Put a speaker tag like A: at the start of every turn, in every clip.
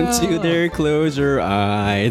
A: want you there, close your eyes.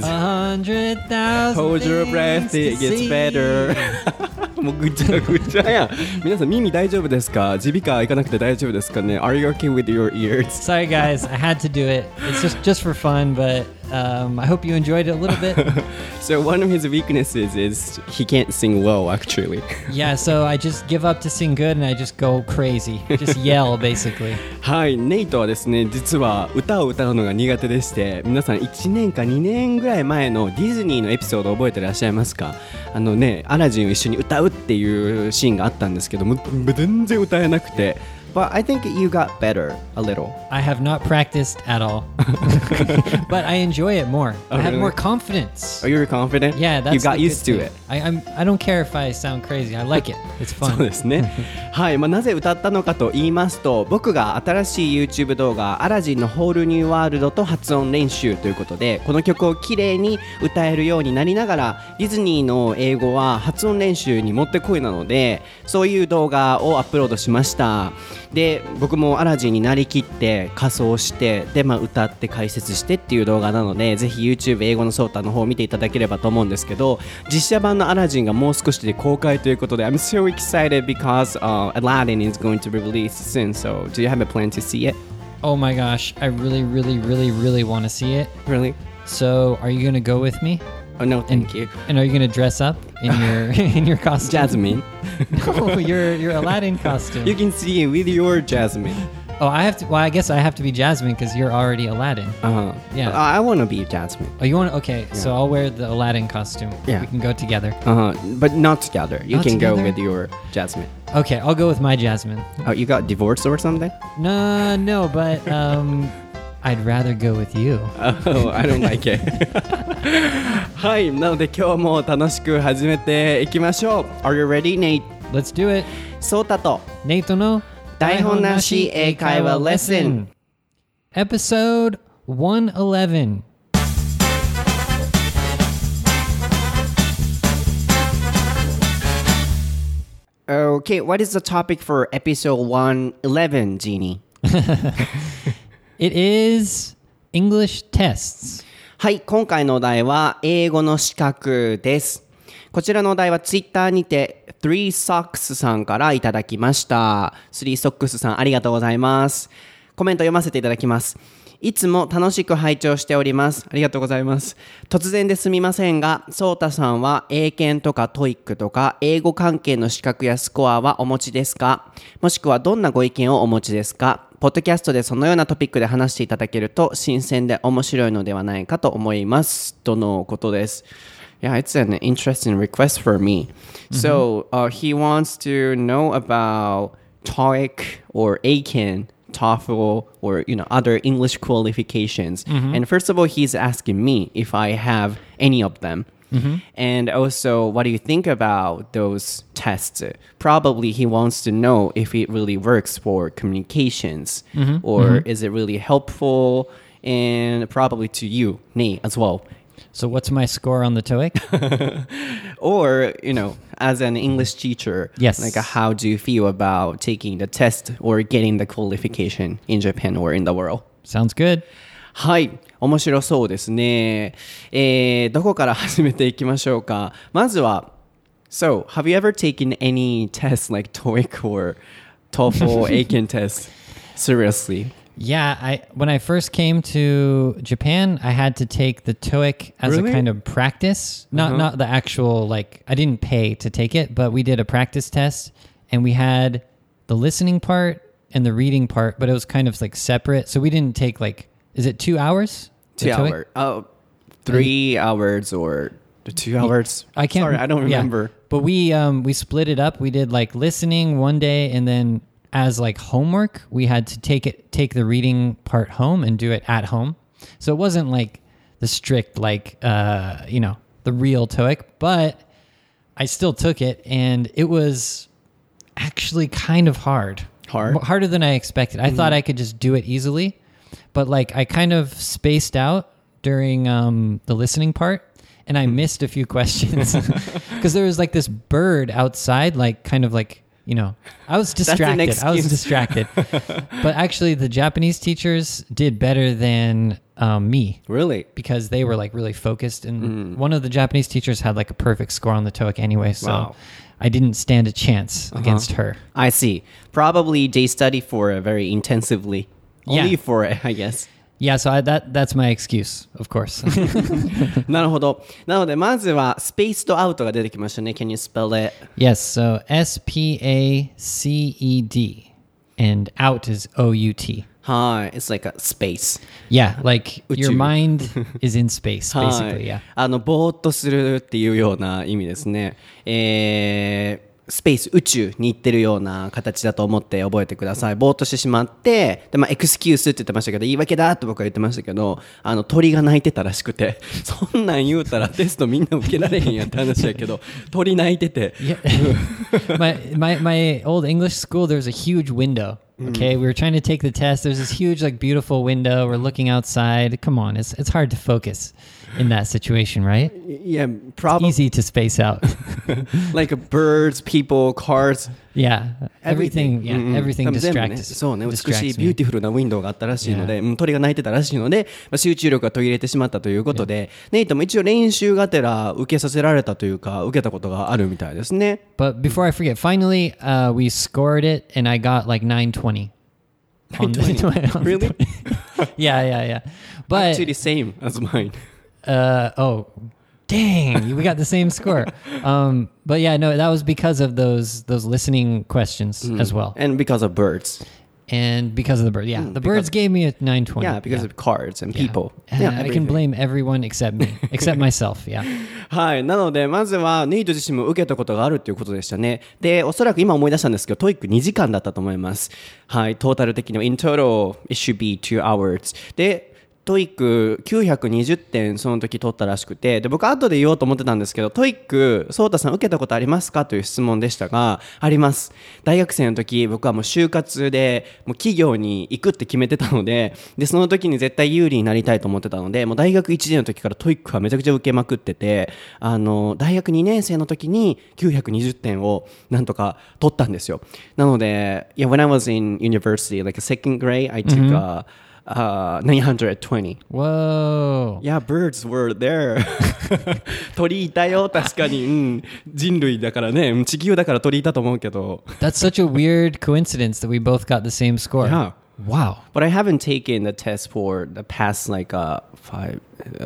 B: 100,000
A: Hold your breath, it gets better. もうぐちゃぐちゃやん。皆さん耳大丈夫ですか？耳鼻科行かなくて大丈夫ですかね？ Are you okay with your ears?
B: Sorry guys, I had to do it. It's just for fun, but I hope you enjoyed it a little bit.
A: So one of his weaknesses is he can't sing well, actually.
B: Yeah, so I just give up to sing good and I just go crazy. Just yell, basically.
A: はい、ネイトはですね、実は歌を歌うのが苦手でして、皆さん1年か2年ぐらい前のディズニーのエピソード覚えてらっしゃいますか？アラジンを一緒に歌うっていうシーンがあったんですけども、全然歌えなくて。But I think you got better a little.
B: I have not practiced at all. But I enjoy it more.
A: Oh,
B: I have
A: really?
B: more confidence.
A: Are you confident?
B: Yeah, that's
A: You got
B: the
A: used
B: good
A: to
B: thing.
A: it.
B: I don't care if I sound crazy. I like it. It's
A: そう
B: fun.
A: ですね。はい、なぜ歌ったのかと言いますと、僕が新しい YouTube 動画アラジンのホールニューワールドと発音練習ということで、この曲をきれいに歌えるようになりながら、ディズニーの英語は発音練習にもってこいなので、そういう動画をアップロードしました。で、僕もアラジンになりきって仮装してで、歌って解説してっていう動画なので、ぜひ YouTube 英語のソータの方を見ていただければと思うんですけど、実写版のアラジンがもう少しで公開ということで I'm so excited because Aladdin is going to be released soon. So do you have a plan to see it?
B: Oh my gosh. I really, really, really, really want to see it.
A: Really?
B: So are you going to go with me?
A: Oh no, thank you.
B: And are you going to dress up in your in your costume?
A: Jasmine.
B: No, your Aladdin costume.
A: You can see it with your Jasmine.
B: Oh, I have to. Well, I guess I have to be Jasmine because you're already Aladdin. Yeah.
A: I want to be Jasmine.
B: Oh, you want? Okay, so I'll wear the Aladdin costume.
A: Yeah.
B: We can go together.
A: But not together. You
B: Not
A: can go
B: together?
A: with your Jasmine.
B: Okay, I'll go with my Jasmine.
A: Oh, you got divorced or something?
B: No, but I'd rather go with you.
A: Oh, I don't like it. はい、なので今日も楽しく始めていきましょう。Are you ready, Nate?
B: Let's do it.
A: ソータと
B: Nate no
A: 台本なし英会話レッスン
B: Episode 111.
A: Okay, what is the topic for episode 111, Jeannie?
B: It is English tests.
A: はい、今回のお題は英語の資格です。こちらのお題はツイッターにて Three Socks さんからいただきました。Three Socks さんありがとうございます。コメント読ませていただきます。いつも楽しく拝聴しております。ありがとうございます。突然ですみませんが、ソータさんは英検とかトイックとか英語関係の資格やスコアはお持ちですか？もしくはどんなご意見をお持ちですか？ポッドキャストでそのようなトピックで話していただけると新鮮で面白いのではないかと思います。とのことです。Yeah, it's an interesting request for me. So, he wants to know about TOEIC or ACAN, TOEFL, or other English qualifications. And first of all, he's asking me if I have any of them. And also, what do you think about those tests? Probably he wants to know if it really works for communications, or is it really helpful, and probably to you, Nate, as well.
B: So what's my score on the TOEIC?
A: Or, as an English teacher,
B: Yes.
A: like how do you feel about taking the test or getting the qualification in Japan or in the world?
B: Sounds good.
A: はい、面白そうですね。どこから始めていきましょうか。まずは、So, have you ever taken any tests like TOEIC or TOEFL, ACAN tests? Seriously?
B: Yeah, when I first came to Japan, I had to take the TOEIC as
A: Really?
B: a kind of practice. Not the actual, I didn't pay to take it, but we did a practice test, and we had the listening part and the reading part, but it was kind of separate. So we didn't take is it 2 hours?
A: 2 hours. 3 hours or 2 hours?
B: I can't.
A: Sorry, I don't remember.
B: Yeah. But we split it up. We did listening one day, and then as homework, we had to take the reading part home and do it at home. So it wasn't the strict the real TOEIC, but I still took it, and it was actually kind of hard. Harder than I expected. I thought I could just do it easily, but I kind of spaced out during the listening part, and I missed a few questions because there was this bird outside, I was distracted. But actually, the Japanese teachers did better than me.
A: Really?
B: Because they were like really focused. And one of the Japanese teachers had like a perfect score on the TOEIC anyway. So
A: Wow.
B: I didn't stand a chance against her.
A: I see. Probably they study for it very intensively. Only
B: Yeah.
A: for it, I guess.
B: Yeah, so that's my excuse, of course.
A: なるほど。なので、まずは、スペースとアウトが出てきましたね。Can you spell it?
B: Yes, so SPACED and out is OUT.
A: はい。It's like a space.
B: Yeah, like
A: 宇宙。
B: your mind is in space,
A: は
B: basically,
A: い
B: yeah.
A: ぼーっとするっていうような意味ですね。スペース、宇宙に行ってるような形だと思って覚えてください。ぼーっとしてしまって、で、エクスキュースって言ってましたけど、言い訳だって僕は言ってましたけど、鳥が鳴いてたらしくて、そんなん言うたらテストみんな受けられへんやって話やけど、鳥鳴いてて。
B: Yeah. my old English school, there's a huge window. Okay, we were trying to take the test. There's this huge, like, beautiful window. We're looking outside. Come on, it's hard to focus in that situation, right?
A: Yeah, probably.
B: Easy to space out.
A: Like birds, people, cars.
B: Yeah, everything. Yeah, everything
A: 多分全部ね
B: distracts.
A: そうね、美しい
B: distracts
A: ビュー
B: me.
A: ティフルなウィンドウがあったらしいので、鳥が鳴いてたらしいので、集中力が途切れてしまったということで、ネイトも一応練習がてら受けさせられたというか、受けたことがあるみたいですね。
B: But before I forget, finally, we scored it, and I got like 920. On the-
A: Really?
B: Yeah. But
A: Actually same as mine.
B: oh, dang, we got the same score. But yeah, no, that was because of those listening questions as well,
A: And because of birds.
B: and because of the bird. Yeah, the birds gave me a 920.
A: Yeah, because of cars and people.
B: Yeah,
A: Yeah,
B: I can
A: everything.
B: blame everyone except me, except myself. Yeah.
A: はい。なので、まずは、ネイト自身も受けたことがあるっていうことでしたね。で、おそらく今思い出したんですけど、トイック2時間だったと思います。はい。トータル的には、in total, it should be 2 hours. で、トイック920点その時取ったらしくて、で、僕後で言おうと思ってたんですけど、トイック、ソータさん受けたことありますかという質問でしたが、あります。大学生の時、僕はもう就活で、もう企業に行くって決めてたので、で、その時に絶対有利になりたいと思ってたので、もう大学1年の時からトイックはめちゃくちゃ受けまくってて、大学2年生の時に920点をなんとか取ったんですよ。なので、yeah, when I was in university, like a second grade, I took a 920.
B: Whoa.
A: Yeah, birds were there. 鳥いたよ、確かに。うん。人類だからね。地球だから鳥いたと思うけど。
B: That's such a weird coincidence that we both got the same score.
A: Yeah.
B: Wow.
A: But I haven't taken the test for the past like 5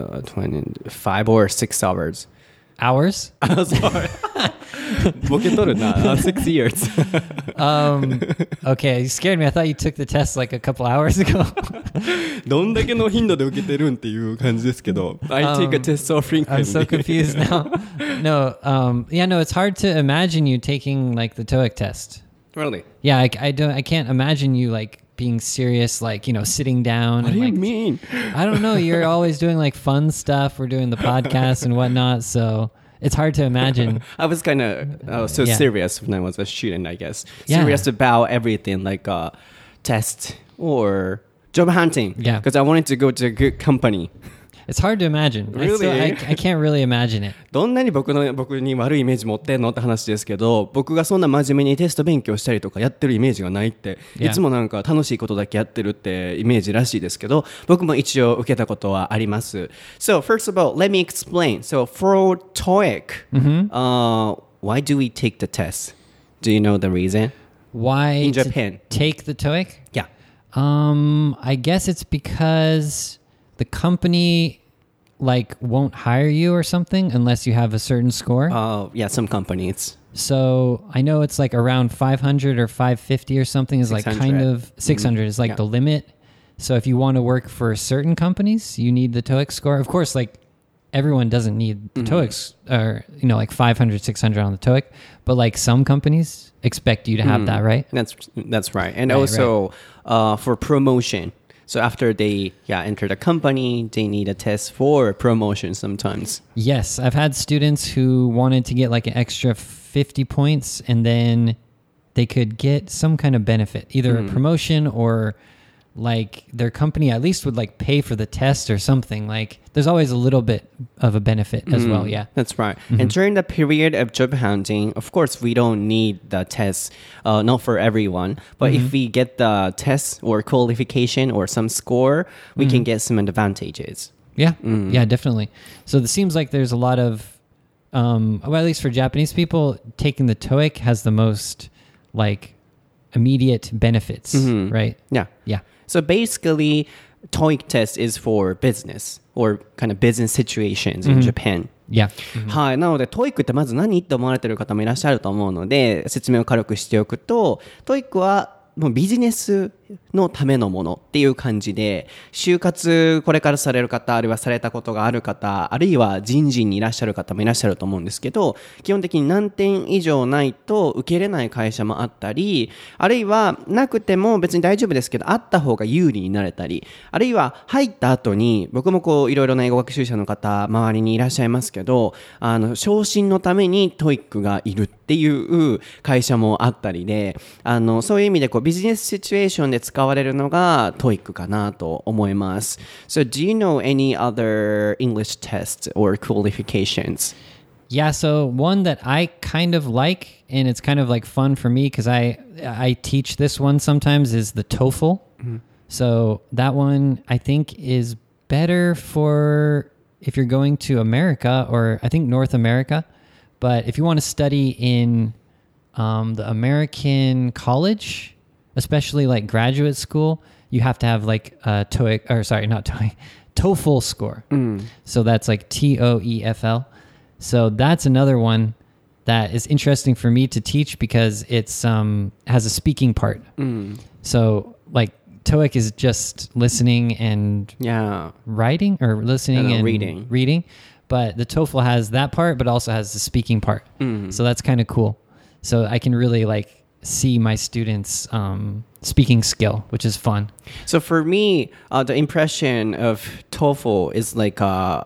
A: or 6 hours.
B: Hours?
A: I'm sorry. ボケとるな。6 years.
B: Okay, you scared me. I thought you took the test like a couple hours ago.
A: どんだけの頻度で受けてるんっていう感じですけど。I take a test so frequently.
B: I'm so confused now. No, it's hard to imagine you taking like the TOEIC test.
A: Really?
B: Yeah, I can't imagine you like being serious, like, sitting down.
A: What
B: and,
A: do you
B: like,
A: mean?
B: I don't know. You're always doing like fun stuff. We're doing the podcast and whatnot. So it's hard to imagine.
A: I was kind of so
B: Yeah.
A: serious when I was a student, I guess.
B: Yeah.
A: Serious about everything, like test or job hunting.
B: Yeah.
A: Because I wanted to go to a good company.
B: It's hard to imagine.
A: Really?
B: I can't really imagine it.
A: どんなに僕に悪いイメージ持ってんのって話ですけど、僕がそんな真面目にテスト勉強したりとかやってるイメージがないって、
B: Yeah.
A: いつもなんか楽しいことだけやってるってイメージらしいですけど、僕も一応受けたことはあります。So first of all, let me explain. So for TOEIC, why do we take the test? Do you know the reason?
B: Why
A: In
B: to
A: Japan.
B: take the TOEIC?
A: Yeah.
B: I guess it's because the company like won't hire you or something unless you have a certain score.
A: Yeah, some companies.
B: So I know it's like around 500 or 550 or something is like
A: 600.
B: kind of 600 is like
A: Yeah.
B: the limit. So if you want to work for certain companies, you need the TOEIC score. Of course, like everyone doesn't need the TOEIC or like 500, 600 on the TOEIC, but like some companies expect you to have that, right?
A: That's right. And
B: Right,
A: also for promotion. So after they enter the company, they need a test for promotion sometimes.
B: Yes, I've had students who wanted to get like an extra 50 points and then they could get some kind of benefit, either a promotion or like their company at least would like pay for the test or something. Like there's always a little bit of a benefit as well. Yeah.
A: That's right. And during the period of job hunting, of course, we don't need the test, not for everyone. But if we get the test or qualification or some score, we can get some advantages.
B: Yeah. Yeah, definitely. So it seems like there's a lot of, well, at least for Japanese people, taking the TOEIC has the most like immediate benefits, right?
A: Yeah.
B: Yeah.
A: So basically, TOEIC test is for business or kind of business situations in Japan.
B: Yeah.
A: はい。なので、TOEIC ってまず何って思われてる方もいらっしゃると思うので、説明を軽くしておくと、TOEIC はもうビジネスのためのものっていう感じで、就活これからされる方、あるいはされたことがある方、あるいは人事にいらっしゃる方もいらっしゃると思うんですけど、基本的に何点以上ないと受けれない会社もあったり、あるいはなくても別に大丈夫ですけど、あった方が有利になれたり、あるいは入った後に、僕もこういろいろな英語学習者の方、周りにいらっしゃいますけど、昇進のために TOEIC がいるっていう会社もあったりで、そういう意味でこうビジネスシチュエーションで使われるのが TOEIC かなと思います。So do you know any other English tests or qualifications?
B: Yeah, so one that I kind of like, and it's kind of like fun for me because I teach this one sometimes, is the TOEFL. So that one I think is better for if you're going to America or I think North America. But if you want to study in the American college, especially like graduate school, you have to have like a TOEIC, or sorry, not TOEIC, TOEFL score. So that's like TOEFL. So that's another one that is interesting for me to teach because it's has a speaking part. So like TOEIC is just listening and writing, or listening and reading. But the TOEFL has that part, but also has the speaking part. So that's kind of cool. So I can really like see my students' speaking skill, which is fun.
A: So for me, the impression of TOEFL is like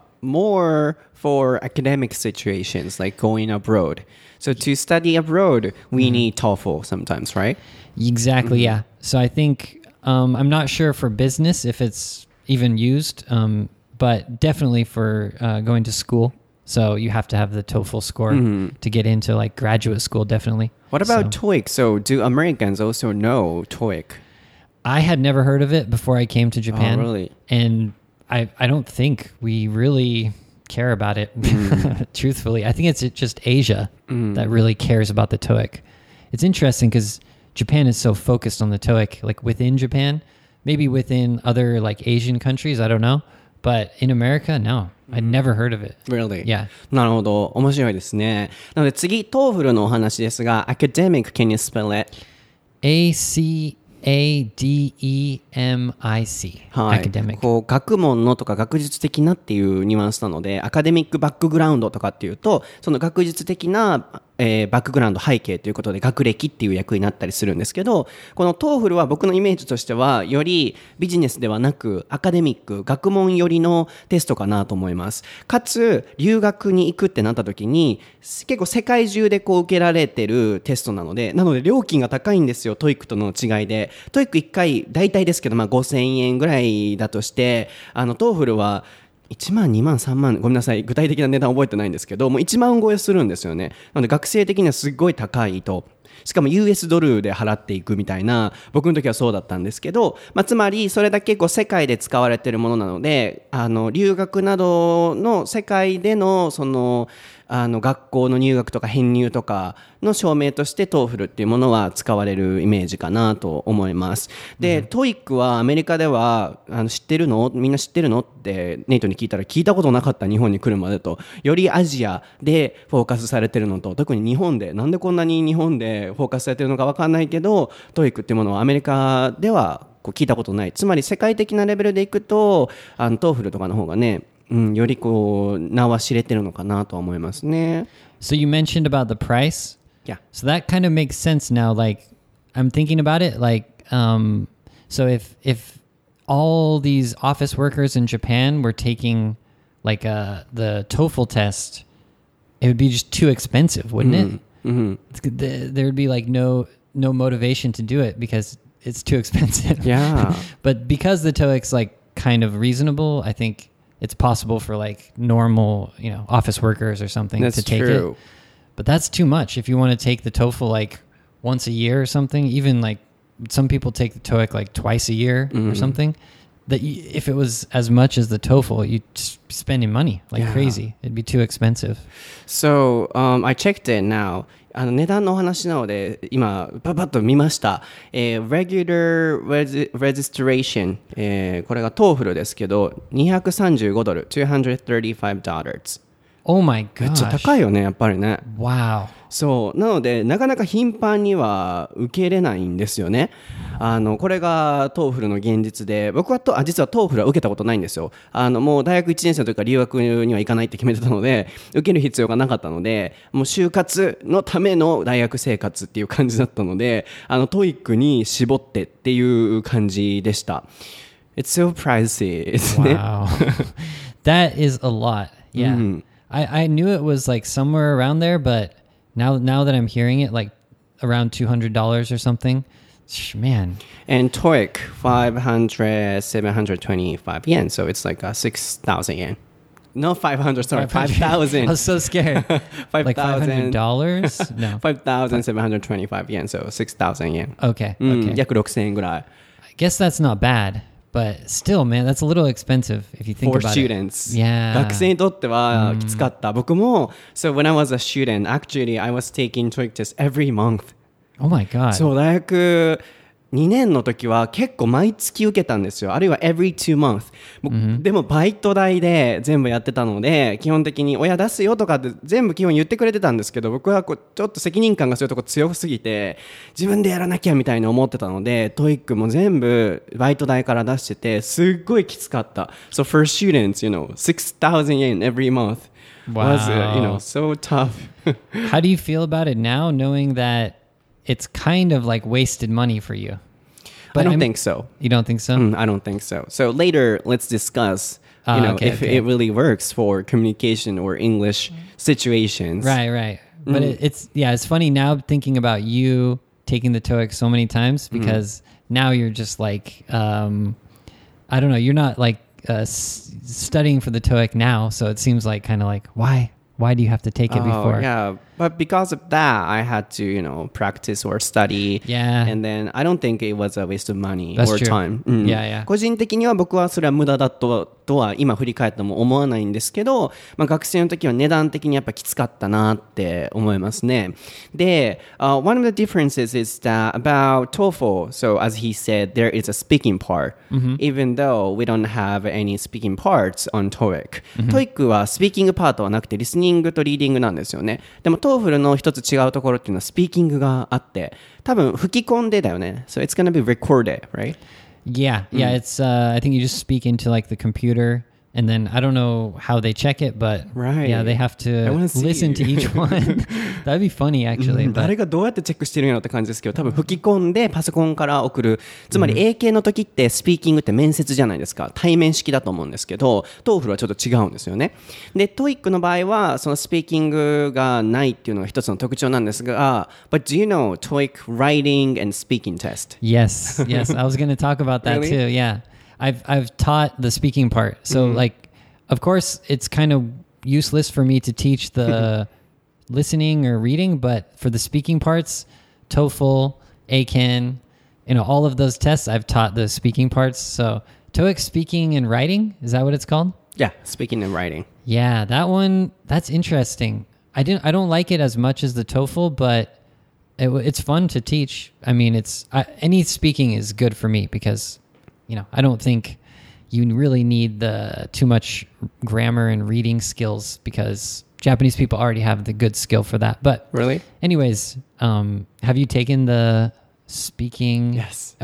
A: more for academic situations, like going abroad. So to study abroad, we need TOEFL sometimes, right?
B: Exactly, yeah. So I think, I'm not sure for business if it's even used, but definitely for going to school. So you have to have the TOEFL score to get into like graduate school, definitely.
A: What about TOEIC? So do Americans also know TOEIC?
B: I had never heard of it before I came to Japan.
A: Oh, really?
B: And I don't think we really care about it, truthfully. I think it's just Asia that really cares about the TOEIC. It's interesting because Japan is so focused on the TOEIC, like within Japan, maybe within other like Asian countries, I don't know. But in America, no. I'd never heard of it.
A: Really?
B: Yeah.
A: なるほど。面白いですね。なので次、TOEFL のお話ですが、academic, can you spell it?
B: ACADEMIC.
A: はい。
B: Academic.
A: こう、学問のとか学術的なっていうニュアンスなので、アカデミックバックグラウンドとかっていうと、その学術的な、バックグラウンド背景ということで学歴っていう役になったりするんですけど、この TOEFL は僕のイメージとしてはよりビジネスではなくアカデミック、学問寄りのテストかなと思います。かつ留学に行くってなった時に結構世界中でこう受けられてるテストなので料金が高いんですよ。 TOEIC との違いで TOEIC1 回大体ですけど、5000円ぐらいだとしてTOEFL は1万、2万、3万、ごめんなさい、具体的な値段覚えてないんですけど、もう1万超えするんですよね。なので学生的にはすごい高いと。しかも US ドルで払っていくみたいな、僕の時はそうだったんですけど、つまりそれだけこう世界で使われているものなので、留学などの世界でのその学校の入学とか編入とかの証明として TOEFL っていうものは使われるイメージかなと思います。で、TOEIC はアメリカでは知ってるの？みんな知ってるのってネイトに聞いたら聞いたことなかった、日本に来るまでと。よりアジアでフォーカスされてるのと、特に日本でなんでこんなに日本でフォーカスされてるのか分かんないけど TOEIC っていうものはアメリカではこう聞いたことない。つまり世界的なレベルでいくとTOEFL とかの方がね、よりこう名は知れてるのかなと思いますね。
B: So you mentioned about the price.
A: Yeah.
B: So that kind of makes sense now. Like I'm thinking about it. Like so if all these office workers in Japan were taking like the TOEFL test, it would be just too expensive, wouldn't it? There would be like no motivation to do it because it's too expensive.
A: Yeah.
B: But because the TOEIC's like kind of reasonable, I think it's possible for like normal, office workers or something
A: That's
B: to take
A: true.
B: it. But that's too much. If you want to take the TOEFL like once a year or something, even like some people take the TOEIC like twice a year or something, if it was as much as the TOEFL, you'd just be spending money like crazy. It'd be too expensive.
A: So, I checked it now. 値段のお話なので今パパッと見ました、regular registration、これが TOEFL ですけど$235 $235
B: Oh my
A: めっちゃ
B: gosh.
A: 高いよねやっぱりね。
B: Wow.
A: そうなのでなかなか頻繁には受け入れないんですよね。これが TOEFL の現実で僕は実は TOEFL は受けたことないんですよ。もう大学1年生の時から留学には行かないって決めてたので受ける必要がなかったのでもう就活のための大学生活っていう感じだったのでTOEIC に絞ってっていう感じでした。It's so pricey ですね。
B: Wow. That is a lot. Yeah. I knew it was like somewhere around there, but now that I'm hearing it, like around $200 or something, man.
A: And TOEIC 725 yen, so it's like 6,000 yen. No, 500, sorry, 5,000.
B: I was so scared. Like $500? No.
A: 5,725 yen, so 6,000 yen.
B: Okay.
A: 約6,000円ぐらい。
B: I guess that's not bad, but still, man, that's a little expensive if you think
A: For
B: about
A: students.
B: it. Yeah.
A: 学生にとってはきつかった。僕も、so when I was a student, actually I was taking TOEIC tests every month.
B: Oh my God.
A: そう、大学2年の時は結構毎月受けたんですよ。あるいは every 2 month。でもバイト代で全部やってたので、基本的に親出すよとかって全部基本言ってくれてたんですけど、僕はちょっと責任感がそういうとこ強すぎて、自分でやらなきゃみたいに思ってたので、TOEIC も全部バイト代から出してて、すっごいきつかった。So for students, 6,000 yen every month was,
B: Wow.
A: so tough.
B: How do you feel about it now, knowing that it's kind of like wasted money for you?
A: I don't think so.
B: You don't think so?
A: I don't think so. So later, let's discuss, if it really works for communication or English situations.
B: Right. But it's funny now thinking about you taking the TOEIC so many times because now you're just like, I don't know, you're not like studying for the TOEIC now. So it seems like kind of like, why do you have to take it before?
A: Yeah, but because of that, I had to, practice or study.
B: Yeah.
A: And then I don't think it was a waste of money
B: That's
A: or
B: true.
A: time.
B: Yeah.
A: 個人的には僕はそれは無駄だとは今振り返っても思わないんですけど、学生の時は値段的にやっぱきつかったなって思いますね。で、one of the differences is that about TOEFL, so as he said, there is a speaking part, even though we don't have any speaking parts on TOEIC. TOEIC はスピーキングパートはなくてリスニングとリーディングなんですよね。でもTOEFL の一つ違うところっていうのはスピーキングがあって多分吹き込んでだよね。So it's gonna be recorded, right?
B: Yeah. It's I think you just speak into like the computer and then I don't know how they check it, but
A: Right.
B: yeah, they have to
A: I wanna see.
B: listen to each one. That'd be funny actually.
A: 誰
B: But
A: がどうやってチェックしてるんやろって感じですけど多分吹き込んでパソコンから送るつまり英検の時ってスピーキングって面接じゃないですか対面式だと思うんですけどTOEFLはちょっと違うんですよねで TOEIC の場合はそのスピーキングがないっていうのが一つの特徴なんですが But do you know TOEIC writing and speaking test?
B: yes, I was going to talk about that
A: Really?
B: too. Yeah. I've taught the speaking part. So like of course it's kind of useless for me to teach the listening or reading, but for the speaking parts, TOEFL, ACAN, all of those tests, I've taught the speaking parts. So TOEIC speaking and writing, is that what it's called?
A: Yeah, speaking and writing.
B: Yeah, that one, that's interesting. I don't like it as much as the TOEFL, but it's fun to teach. I mean, any speaking is good for me because, I don't think you really need the too much grammar and reading skills because Japanese people already have the good skill for that. But
A: Really?
B: anyways, have you taken the speaking?
A: Yes.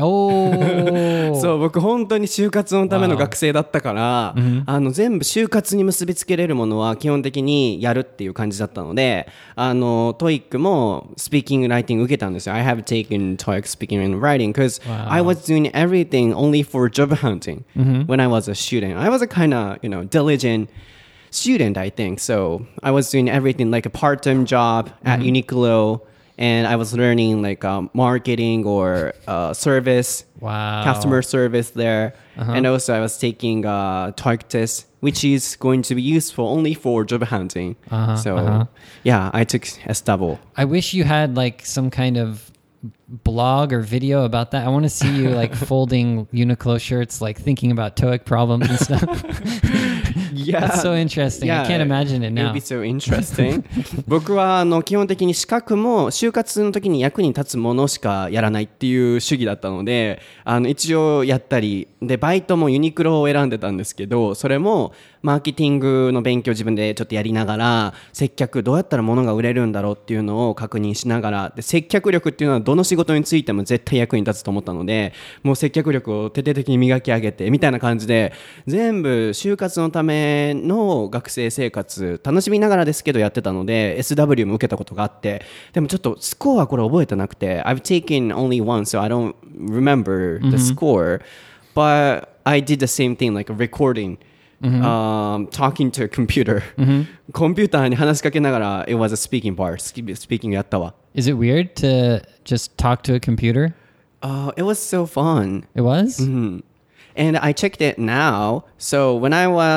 B: Oh.
A: そう僕本当に就活のための学生だったから、全部就活に結びつけれるものは基本的にやるっていう感じだったのでTOEIC もスピーキングライティング受けたんですよ I have taken TOEIC speaking and writing because I was doing everything only for job hunting when I was a student I was a kind of diligent student I think so I was doing everything like a part-time job at Uniqlo and I was learning like marketing or service,
B: Wow.
A: customer service there. And also I was taking TOEIC test, which is going to be useful only for job hunting. Yeah, I took S-double.
B: I wish you had like some kind of blog or video about that. I want to see you like folding Uniqlo shirts, like thinking about TOEIC problems and stuff.
A: Yeah.
B: That's so interesting. I can't imagine it
A: It would
B: now.
A: be so interesting. 僕は基本的に資格も就活の時に役に立つものしかやらないっていう主義だったので、一応やったりで、バイトもユニクロを選んでたんですけど、それもマーケティングの勉強自分でちょっとやりながら、接客どうやったら物が売れるんだろうっていうのを確認しながら、で接客力っていうのはどの仕事についても絶対役に立つと思ったので、もう接客力を徹底的に磨き上げてみたいな感じで、全部就活のための学生生活楽しみながらですけどやってたので SW も受けたことがあって、でもちょっとスコアこれ覚えてなくて I've taken only one so I don't remember the score, but I did the same thing like a recording, talking to a computer, コンピューターに話しかけながら it was a speaking part, speaking やったわ。
B: Is it weird to just talk to a computer?
A: It was so fun.
B: It was?
A: And I checked it now. So when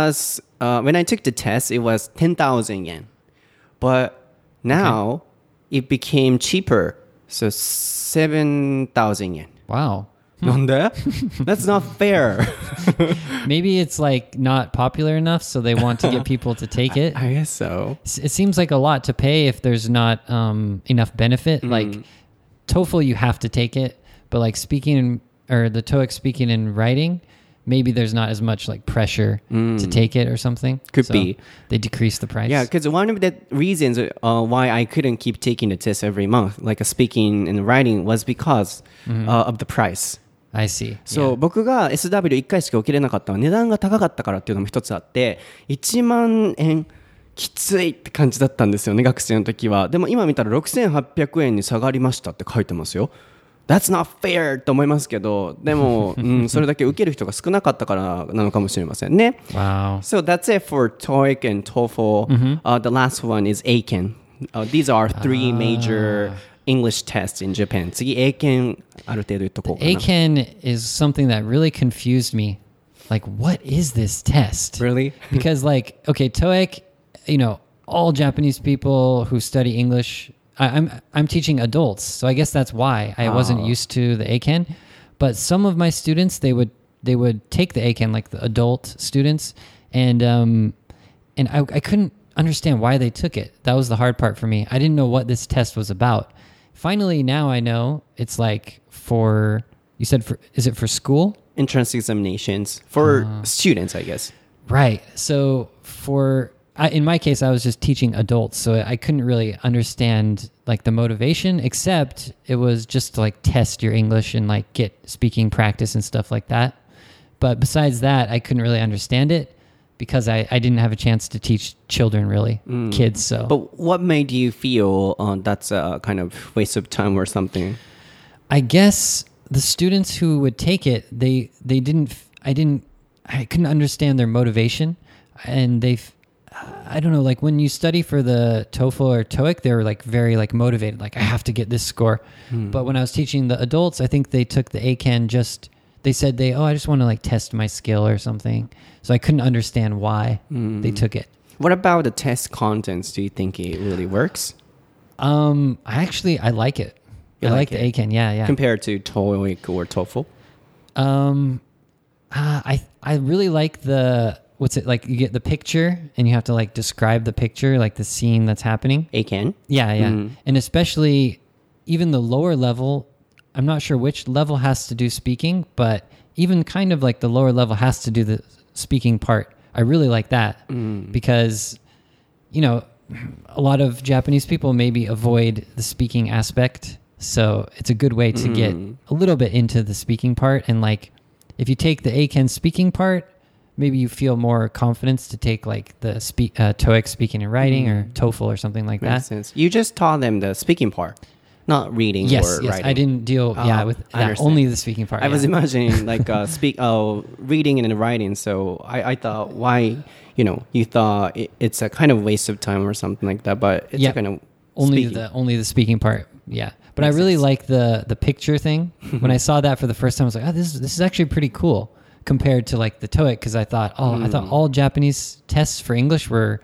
A: I took the test, it was 10,000 yen. But now it became cheaper. So 7,000 yen.
B: Wow.
A: なんで? That's not fair.
B: Maybe it's like not popular enough, so they want to get people to take it.
A: I guess so.
B: It seems like a lot to pay if there's not enough benefit. Like TOEFL, you have to take it, but like speaking or the TOEIC speaking and writing, maybe there's not as much like pressure to take it or something.
A: Could be.
B: They decrease the price.
A: Yeah, because one of the reasons why I couldn't keep taking the test every month, like speaking and writing, was because of the price.
B: I see.
A: そう、僕が SW1 回しか受けれなかったのは値段が高かったからっていうのも一つあって、1万円きついって感じだったんですよね、学生の時は。でも今見たら6800円に下がりましたって書いてますよ。That's not fair と思いますけど、でも、それだけ受ける人が少なかったからなのかもしれませんね。
B: Wow.
A: So that's it for TOEIC and TOEFL. The last one is Eiken. These are three major English tests in Japan. 次、英検ある程度言っとこうかな。
B: Eiken is something that really confused me. Like, what is this test?
A: Really?
B: Because like, okay, TOEIC, you know, all Japanese people who study English, I'm teaching adults, so I guess that's why I wasn't used to the Eiken. But some of my students, they would take the Eiken, like the adult students, and I couldn't understand why they took it. That was the hard part for me. I didn't know what this test was about. Finally, now I know it's like you said is it for school?
A: Entrance examinations for students, I guess.
B: Right. So in my case, I was just teaching adults, so I couldn't really understand like the motivation, except it was just to like test your English and like get speaking practice and stuff like that. But besides that, I couldn't really understand it because I didn't have a chance to teach children, really, kids. So,
A: But what made you feel that's a kind of waste of time or something?
B: I guess the students who would take it, I couldn't understand their motivation, and I don't know, like when you study for the TOEFL or TOEIC, they were like very like motivated, like I have to get this score. But when I was teaching the adults, I think they took the Eiken they said I just want to like test my skill or something. So I couldn't understand why they took it.
A: What about the test contents? Do you think it really works?
B: I like it. I like the Eiken. Yeah.
A: Compared to TOEIC or TOEFL?
B: I really like what's it like? You get the picture and you have to like describe the picture, like the scene that's happening.
A: Eiken?
B: Yeah. And especially even the lower level, I'm not sure which level has to do speaking, but even kind of like the lower level has to do the speaking part. I really like that because, you know, a lot of Japanese people maybe avoid the speaking aspect. So it's a good way to get a little bit into the speaking part. And like, if you take the Eiken speaking part, maybe you feel more confidence to take like the TOEIC speaking and writing or TOEFL or something like
A: Makes
B: that.
A: sense. You just taught them the speaking part, not reading or writing.
B: I didn't deal with that, only the speaking part.
A: I was imagining like reading and writing. So I thought why, you thought it's a kind of waste of time or something like that, but it's a kind of
B: only the speaking part. Yeah. But I really like the picture thing. When I saw that for the first time, I was like, oh, this is actually pretty cool compared to like the TOEIC, because I thought all Japanese tests for English were,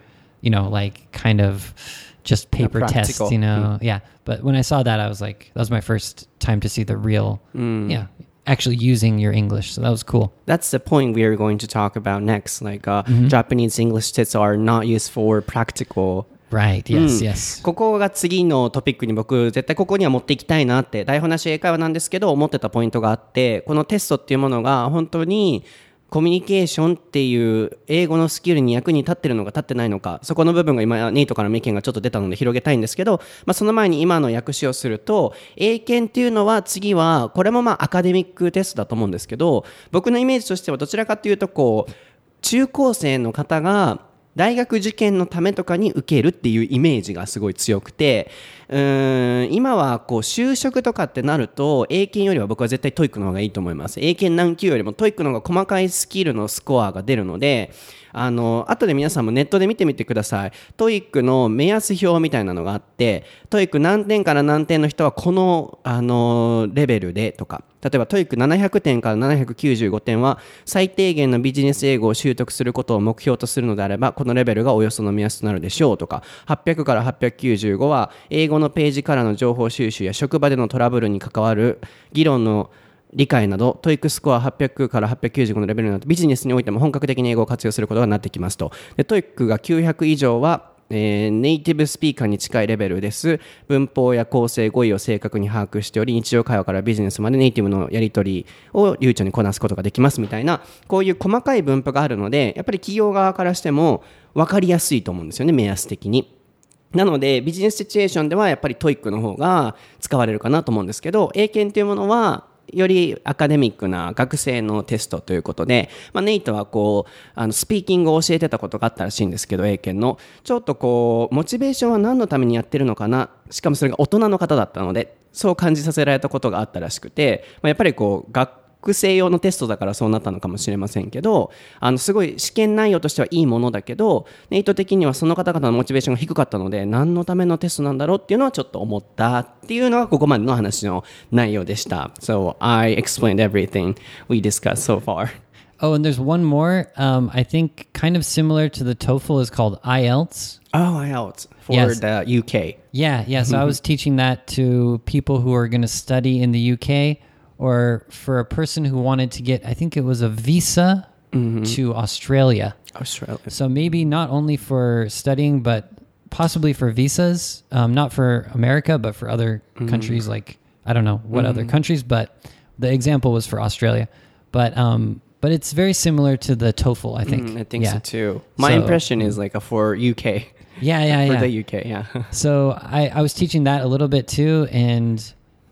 B: like kind of just paper tests, Yeah. But when I saw that, I was like, that was my first time to see the real, actually using your English. So that was cool.
A: That's the point we are going to talk about next. Like Japanese English tests are not used for practical.
B: Right, yes, yes.
A: ここが次のトピックに僕絶対ここには持っていきたいなって台本なし英会話なんですけど思ってたポイントがあって、このテストっていうものが本当にコミュニケーションっていう英語のスキルに役に立ってるのか立ってないのか、そこの部分が今ネイトからの意見がちょっと出たので広げたいんですけど、その前に今の訳しをすると、英検っていうのは次はこれもアカデミックテストだと思うんですけど、僕のイメージとしてはどちらかというと中高生の方が大学受験のためとかに受けるっていうイメージがすごい強くて、今は就職とかってなると英検よりは僕は絶対トイックの方がいいと思います。英検何級よりもトイックの方が細かいスキルのスコアが出るので、後で皆さんもネットで見てみてください。トイックの目安表みたいなのがあって、トイック何点から何点の人はこの、レベルでとか、例えばトイック700点から795点は最低限のビジネス英語を習得することを目標とするのであれば、このレベルがおよその目安となるでしょうとか、800から895は英語のページからの情報収集や職場でのトラブルに関わる議論の理解など、トイックスコア800から895のレベルになるとビジネスにおいても本格的に英語を活用することがなってきますと。でトイックが900以上はネイティブスピーカーに近いレベルです。文法や構成語彙を正確に把握しており、日常会話からビジネスまでネイティブのやり取りを流暢にこなすことができますみたいな、こういう細かい分布があるので、やっぱり企業側からしても分かりやすいと思うんですよね、目安的に。なのでビジネスシチュエーションではやっぱりトイックの方が使われるかなと思うんですけど、英検というものはよりアカデミックな学生のテストということで、ネイトはスピーキングを教えてたことがあったらしいんですけど、英検のちょっとモチベーションは何のためにやってるのかな、しかもそれが大人の方だったのでそう感じさせられたことがあったらしくて、やっぱり学生用のテストだからそうなったのかもしれませんけど、すごい試験内容としてはいいものだけど、ネイト的にはその方々のモチベーションが低かったので、何のためのテストなんだろうっていうのはちょっと思ったっていうのがここまでの話の内容でした。So I explained everything we discussed so far.
B: Oh, and there's one more. I think kind of similar to the TOEFL is called IELTS.
A: Oh, IELTS for the UK.
B: Yeah. So I was teaching that to people who are going to study in the UK, or for a person who wanted to get, I think it was a visa to Australia. So maybe not only for studying, but possibly for visas, not for America, but for other countries, like, I don't know what other countries, but the example was for Australia. But it's very similar to the TOEFL, I think.
A: I think so too. My impression is like for UK.
B: Yeah.
A: For the UK, yeah.
B: So I was teaching that a little bit too, and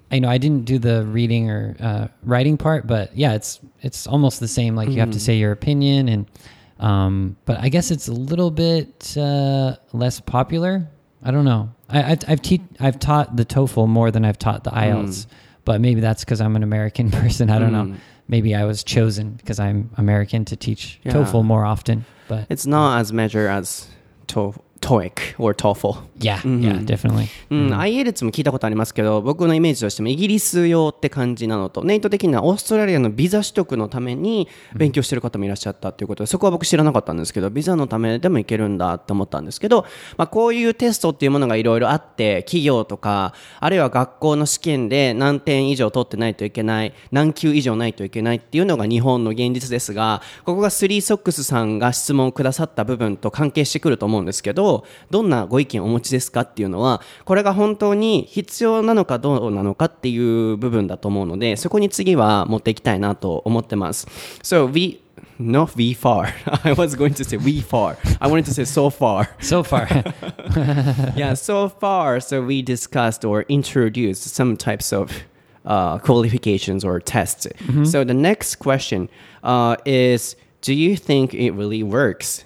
B: I didn't do the reading or writing part, but yeah, it's almost the same. Like you have to say your opinion, and but I guess it's a little bit less popular. I don't know. I've taught the TOEFL more than I've taught the IELTS, but maybe that's because I'm an American person. I don't know. Maybe I was chosen because I'm American to teach TOEFL more often. But
A: it's not as measured as TOEIC or TOEFL.
B: Yeah, definitely.
A: IELTS も聞いたことありますけど、僕のイメージとしてもイギリス用って感じなのと、ネイト的にはオーストラリアのビザ取得のために勉強してる方もいらっしゃったということで、そこは僕知らなかったんですけど、ビザのためでもいけるんだって思ったんですけど、こういうテストっていうものがいろいろあって、企業とかあるいは学校の試験で何点以上取ってないといけない、何級以上ないといけないっていうのが日本の現実ですが、ここがスリーソックスさんが質問をくださった部分と関係してくると思うんですけど、どんなご意見をお持ちですかっていうのは、これが本当に必要なのかどうなのかっていう部分だと思うので、そこに次は持っていきたいなと思ってます。So not we far. I was going to say we far. I wanted to say so far.
B: So far.
A: Yeah, so far. So we discussed or introduced some types of qualifications or tests. So the next question is, do you think it really works?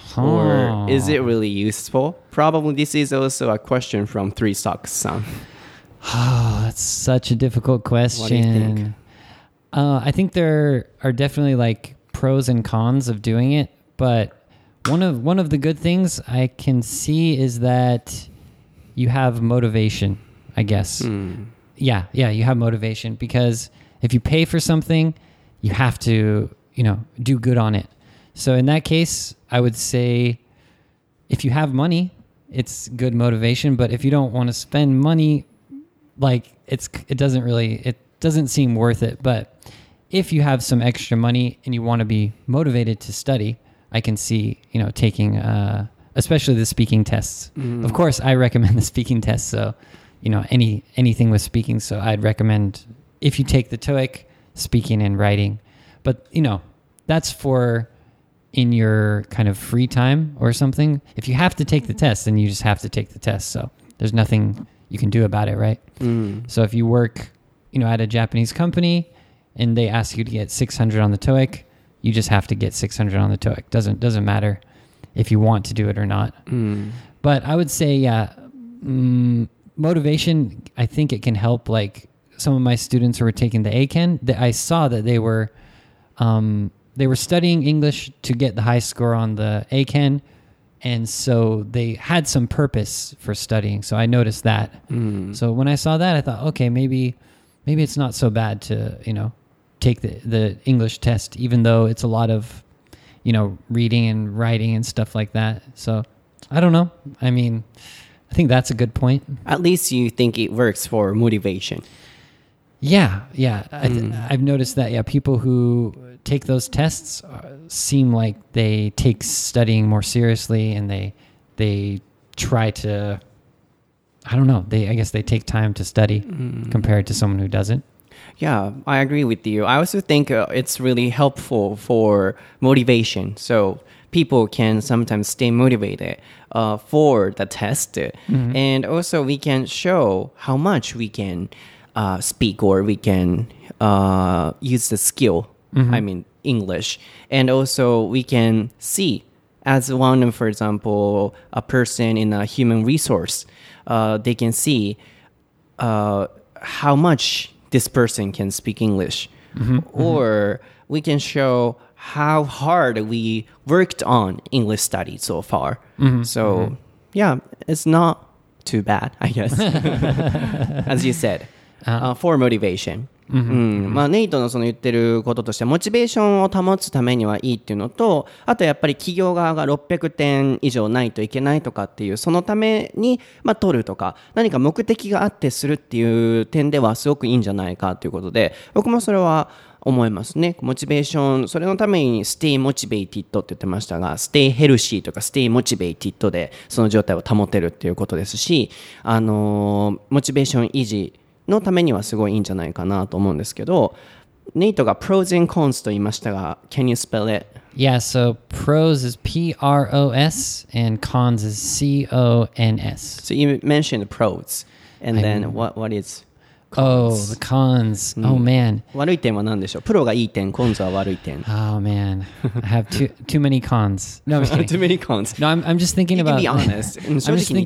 A: Or is it really useful? Probably this is also a question from Three Socks-san.
B: Oh, that's such a difficult question.
A: What do you think?
B: I think there are definitely like pros and cons of doing it, but one of the good things I can see is that you have motivation. I guess. Yeah, you have motivation because if you pay for something, you have to, do good on it. So in that case, I would say if you have money, it's good motivation. But if you don't want to spend money, like it doesn't seem worth it. But if you have some extra money and you want to be motivated to study, I can see, taking, especially the speaking tests. Of course, I recommend the speaking tests. So, anything with speaking. So I'd recommend if you take the TOEIC, speaking and writing. But, that's for in your kind of free time or something. If you have to take the test, then you just have to take the test. So there's nothing you can do about it, right? So if you work, at a Japanese company and they ask you to get 600 on the TOEIC, you just have to get 600 on the TOEIC. Doesn't matter if you want to do it or not. But I would say, motivation, I think it can help. Like some of my students who were taking the ACAN, I saw that they were studying English to get the high score on the ACAN, and so they had some purpose for studying. So I noticed that. So when I saw that, I thought, okay, maybe it's not so bad to take the English test, even though it's a lot of reading and writing and stuff like that. So I don't know. I mean, I think that's a good point.
A: At least you think it works for motivation.
B: Yeah. I've noticed that. Yeah, people who take those tests seem like they take studying more seriously, and they try to. I don't know. I guess they take time to study compared to someone who doesn't.
A: Yeah, I agree with you. I also think it's really helpful for motivation. So people can sometimes stay motivated for the test. And also we can show how much we can speak, or we can use the skill, I mean, English. And also we can see, as one, for example, a person in a human resource, they can see how much this person can speak English. Or we can show how hard we worked on English study so far. So, yeah, it's not too bad, I guess. As you said, for motivation. まあネイトのその言ってることとしてはモチベーションを保つためにはいいっていうのと、あとやっぱり企業側が600点以上ないといけないとかっていう、そのために取るとか何か目的があってするっていう点ではすごくいいんじゃないかということで、僕もそれは思いますね。モチベーション、それのために stay motivated って言ってましたが、stay healthy とか stay motivated でその状態を保てるっていうことですし、モチベーション維持のためにはすごいいいんじゃないかなと思うんですけど、ネイトが pros and cons と言いましたが、can you spell it?
B: Yeah, so pros is P-R-O-S and cons is C-O-N-S.
A: So you mentioned pros, and then what is
B: Oh,
A: cons?
B: the cons. Oh, man.
A: 悪い点は何でしょう？プロがいい点、コンズは悪い点。
B: Oh, man. I have too many cons. No, I'm just kidding.
A: Too many cons.
B: No, I'm just thinking
A: You
B: about...
A: can be honest.
B: I'm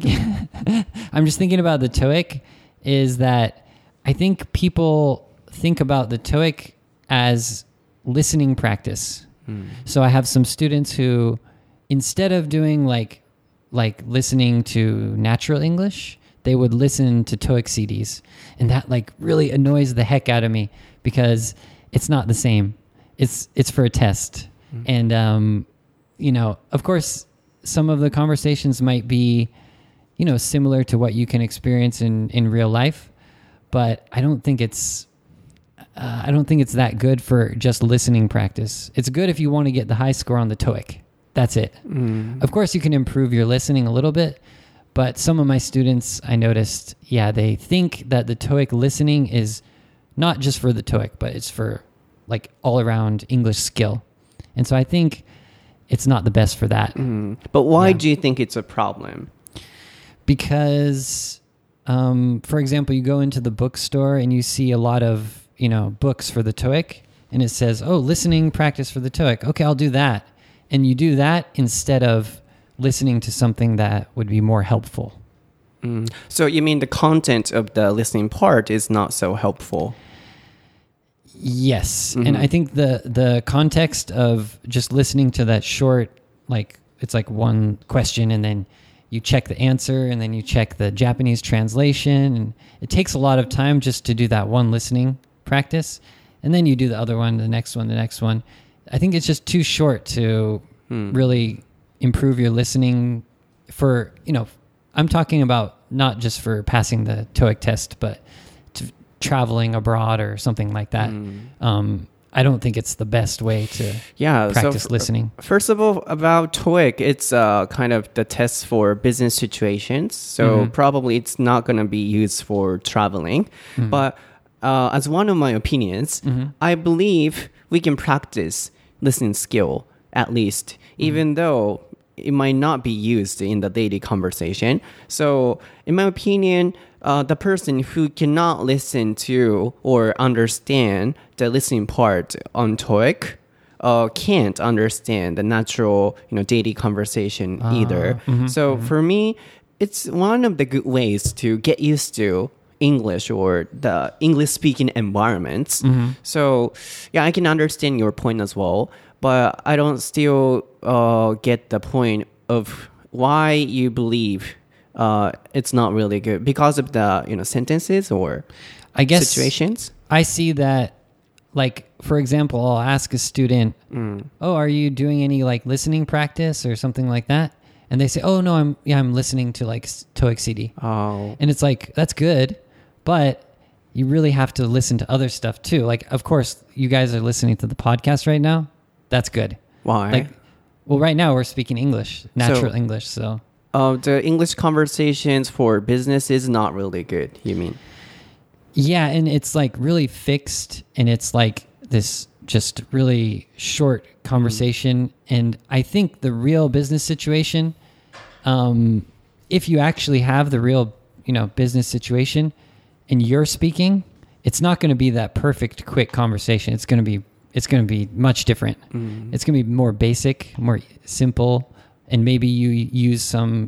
B: just thinking about the TOEIC is that I think people think about the TOEIC as listening practice. So I have some students who, instead of doing like listening to natural English, they would listen to TOEIC CDs. And that like really annoys the heck out of me because it's not the same. It's for a test. And, of course, some of the conversations might be, similar to what you can experience in real life. But I don't think it's that good for just listening practice. It's good if you want to get the high score on the TOEIC. That's it. Of course, you can improve your listening a little bit, but some of my students, I noticed, they think that the TOEIC listening is not just for the TOEIC, but it's for like all around English skill. And so I think it's not the best for that.
A: But why do you think it's a problem?
B: Because... for example, you go into the bookstore and you see a lot of, books for the TOEIC and it says, listening practice for the TOEIC. Okay, I'll do that. And you do that instead of listening to something that would be more helpful.
A: So you mean the content of the listening part is not so helpful?
B: Yes. And I think the context of just listening to that short, like it's like one question and then you check the answer and then you check the Japanese translation. And it takes a lot of time just to do that one listening practice. And then you do the other one, the next one, the next one. I think it's just too short to really improve your listening for, I'm talking about not just for passing the TOEIC test, but traveling abroad or something like that. I don't think it's the best way to practice listening.
A: First of all, about TOEIC, it's kind of the test for business situations. So probably it's not going to be used for traveling. But as one of my opinions, I believe we can practice listening skill at least, even though it might not be used in the daily conversation. So in my opinion, the person who cannot listen to or understand the listening part on TOEIC can't understand the natural, daily conversation either. So for me, it's one of the good ways to get used to English or the English speaking environments. So I can understand your point as well, but I don't still get the point of why you believe it's not really good because of the sentences or
B: I guess
A: situations.
B: I see that, like, for example, I'll ask a student, "Oh, are you doing any like listening practice or something like that?" And they say, "Oh no, I'm listening to like TOEIC CD."
A: Oh,
B: and it's like that's good, but you really have to listen to other stuff too. Like, of course, you guys are listening to the podcast right now. That's good.
A: Why?
B: Like, well, right now we're speaking English, natural English, so.
A: The English conversations for business is not really good, you mean?
B: Yeah, and it's like really fixed, and it's like this just really short conversation. And I think the real business situation, if you actually have the real, business situation and you're speaking, it's not going to be that perfect, quick conversation. It's going to be much different. It's going to be more basic, more simple. And maybe you use some,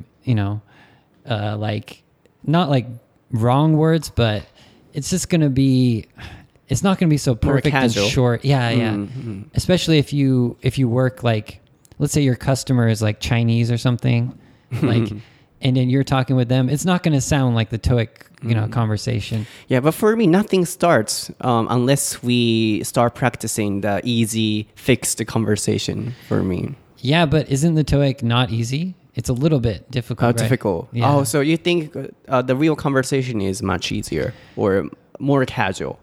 B: like not like wrong words, but it's just going to be, it's not going to be so perfect and short. Yeah. Especially if you work like, let's say your customer is like Chinese or something, like, and then you're talking with them, it's not going to sound like the TOEIC, conversation.
A: Yeah, but for me, nothing starts unless we start practicing the easy, fixed conversation for me.
B: Yeah, but isn't the TOEIC not easy? It's a little bit difficult, right?
A: Difficult.
B: Yeah.
A: Oh, so you think the real conversation is much easier or more casual?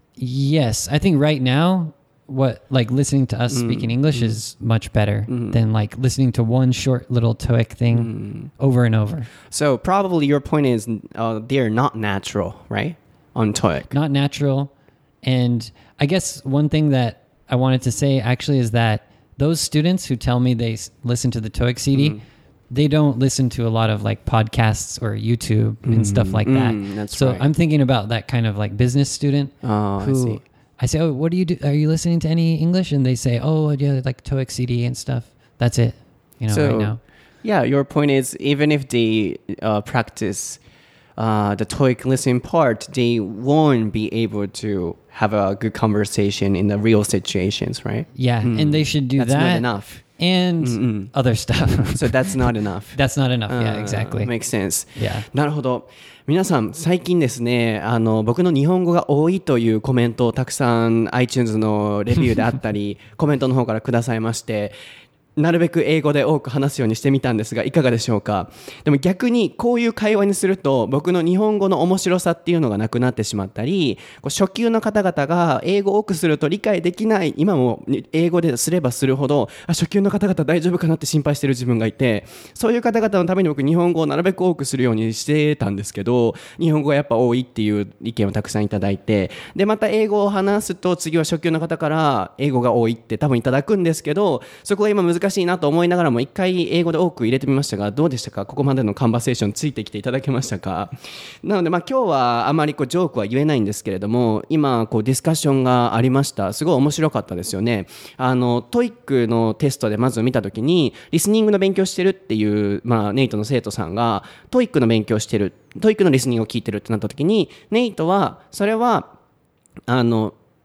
B: Yes, I think right now, listening to us speaking English is much better than like listening to one short little TOEIC thing over and over.
A: So probably your point is they're not natural, right? On TOEIC.
B: Not natural. And I guess one thing that I wanted to say actually is that those students who tell me they listen to the TOEIC CD, they don't listen to a lot of like podcasts or YouTube and stuff like that.
A: That's
B: so
A: right.
B: I'm thinking about that kind of like business student who I say, "Oh, what do you do? Are you listening to any English?" And they say, "Oh, yeah, like TOEIC CD and stuff." That's it, right now.
A: Yeah, your point is even if they practice the TOEIC listening part, they won't be able to have a good conversation in the real situations, right?
B: Yeah, and they should do
A: That's
B: that.
A: not enough.
B: And other stuff.
A: So that's not enough.
B: That's not enough. Yeah, exactly.
A: Makes sense.
B: Yeah.
A: なるほど。皆さん最近ですね、僕の日本語が多いというコメントをたくさん iTunes のレビューであったりコメントの方からくださいまして、なるべく英語で多く話すようにしてみたんですがいかがでしょうか。でも逆にこういう会話にすると僕の日本語の面白さっていうのがなくなってしまったり、初級の方々が英語を多くすると理解できない、今も英語ですればするほど初級の方々大丈夫かなって心配してる自分がいて、そういう方々のために僕日本語をなるべく多くするようにしてたんですけど、日本語がやっぱ多いっていう意見をたくさんいただいて、でまた英語を話すと次は初級の方から英語が多いって多分いただくんですけど、そこが今難しいなと思いながらも一回英語で多く入れてみましたが、どうでしたか。ここまでのカンバセーションついてきていただけましたか。なので今日はあまりジョークは言えないんですけれども、今ディスカッションがありました。すごい面白かったですよね。TOEIC のテストでまず見たときにリスニングの勉強してるっていう、ネイトの生徒さんが TOEIC の勉強してる、TOEIC のリスニングを聞いてるってなったときに、ネイトはそれは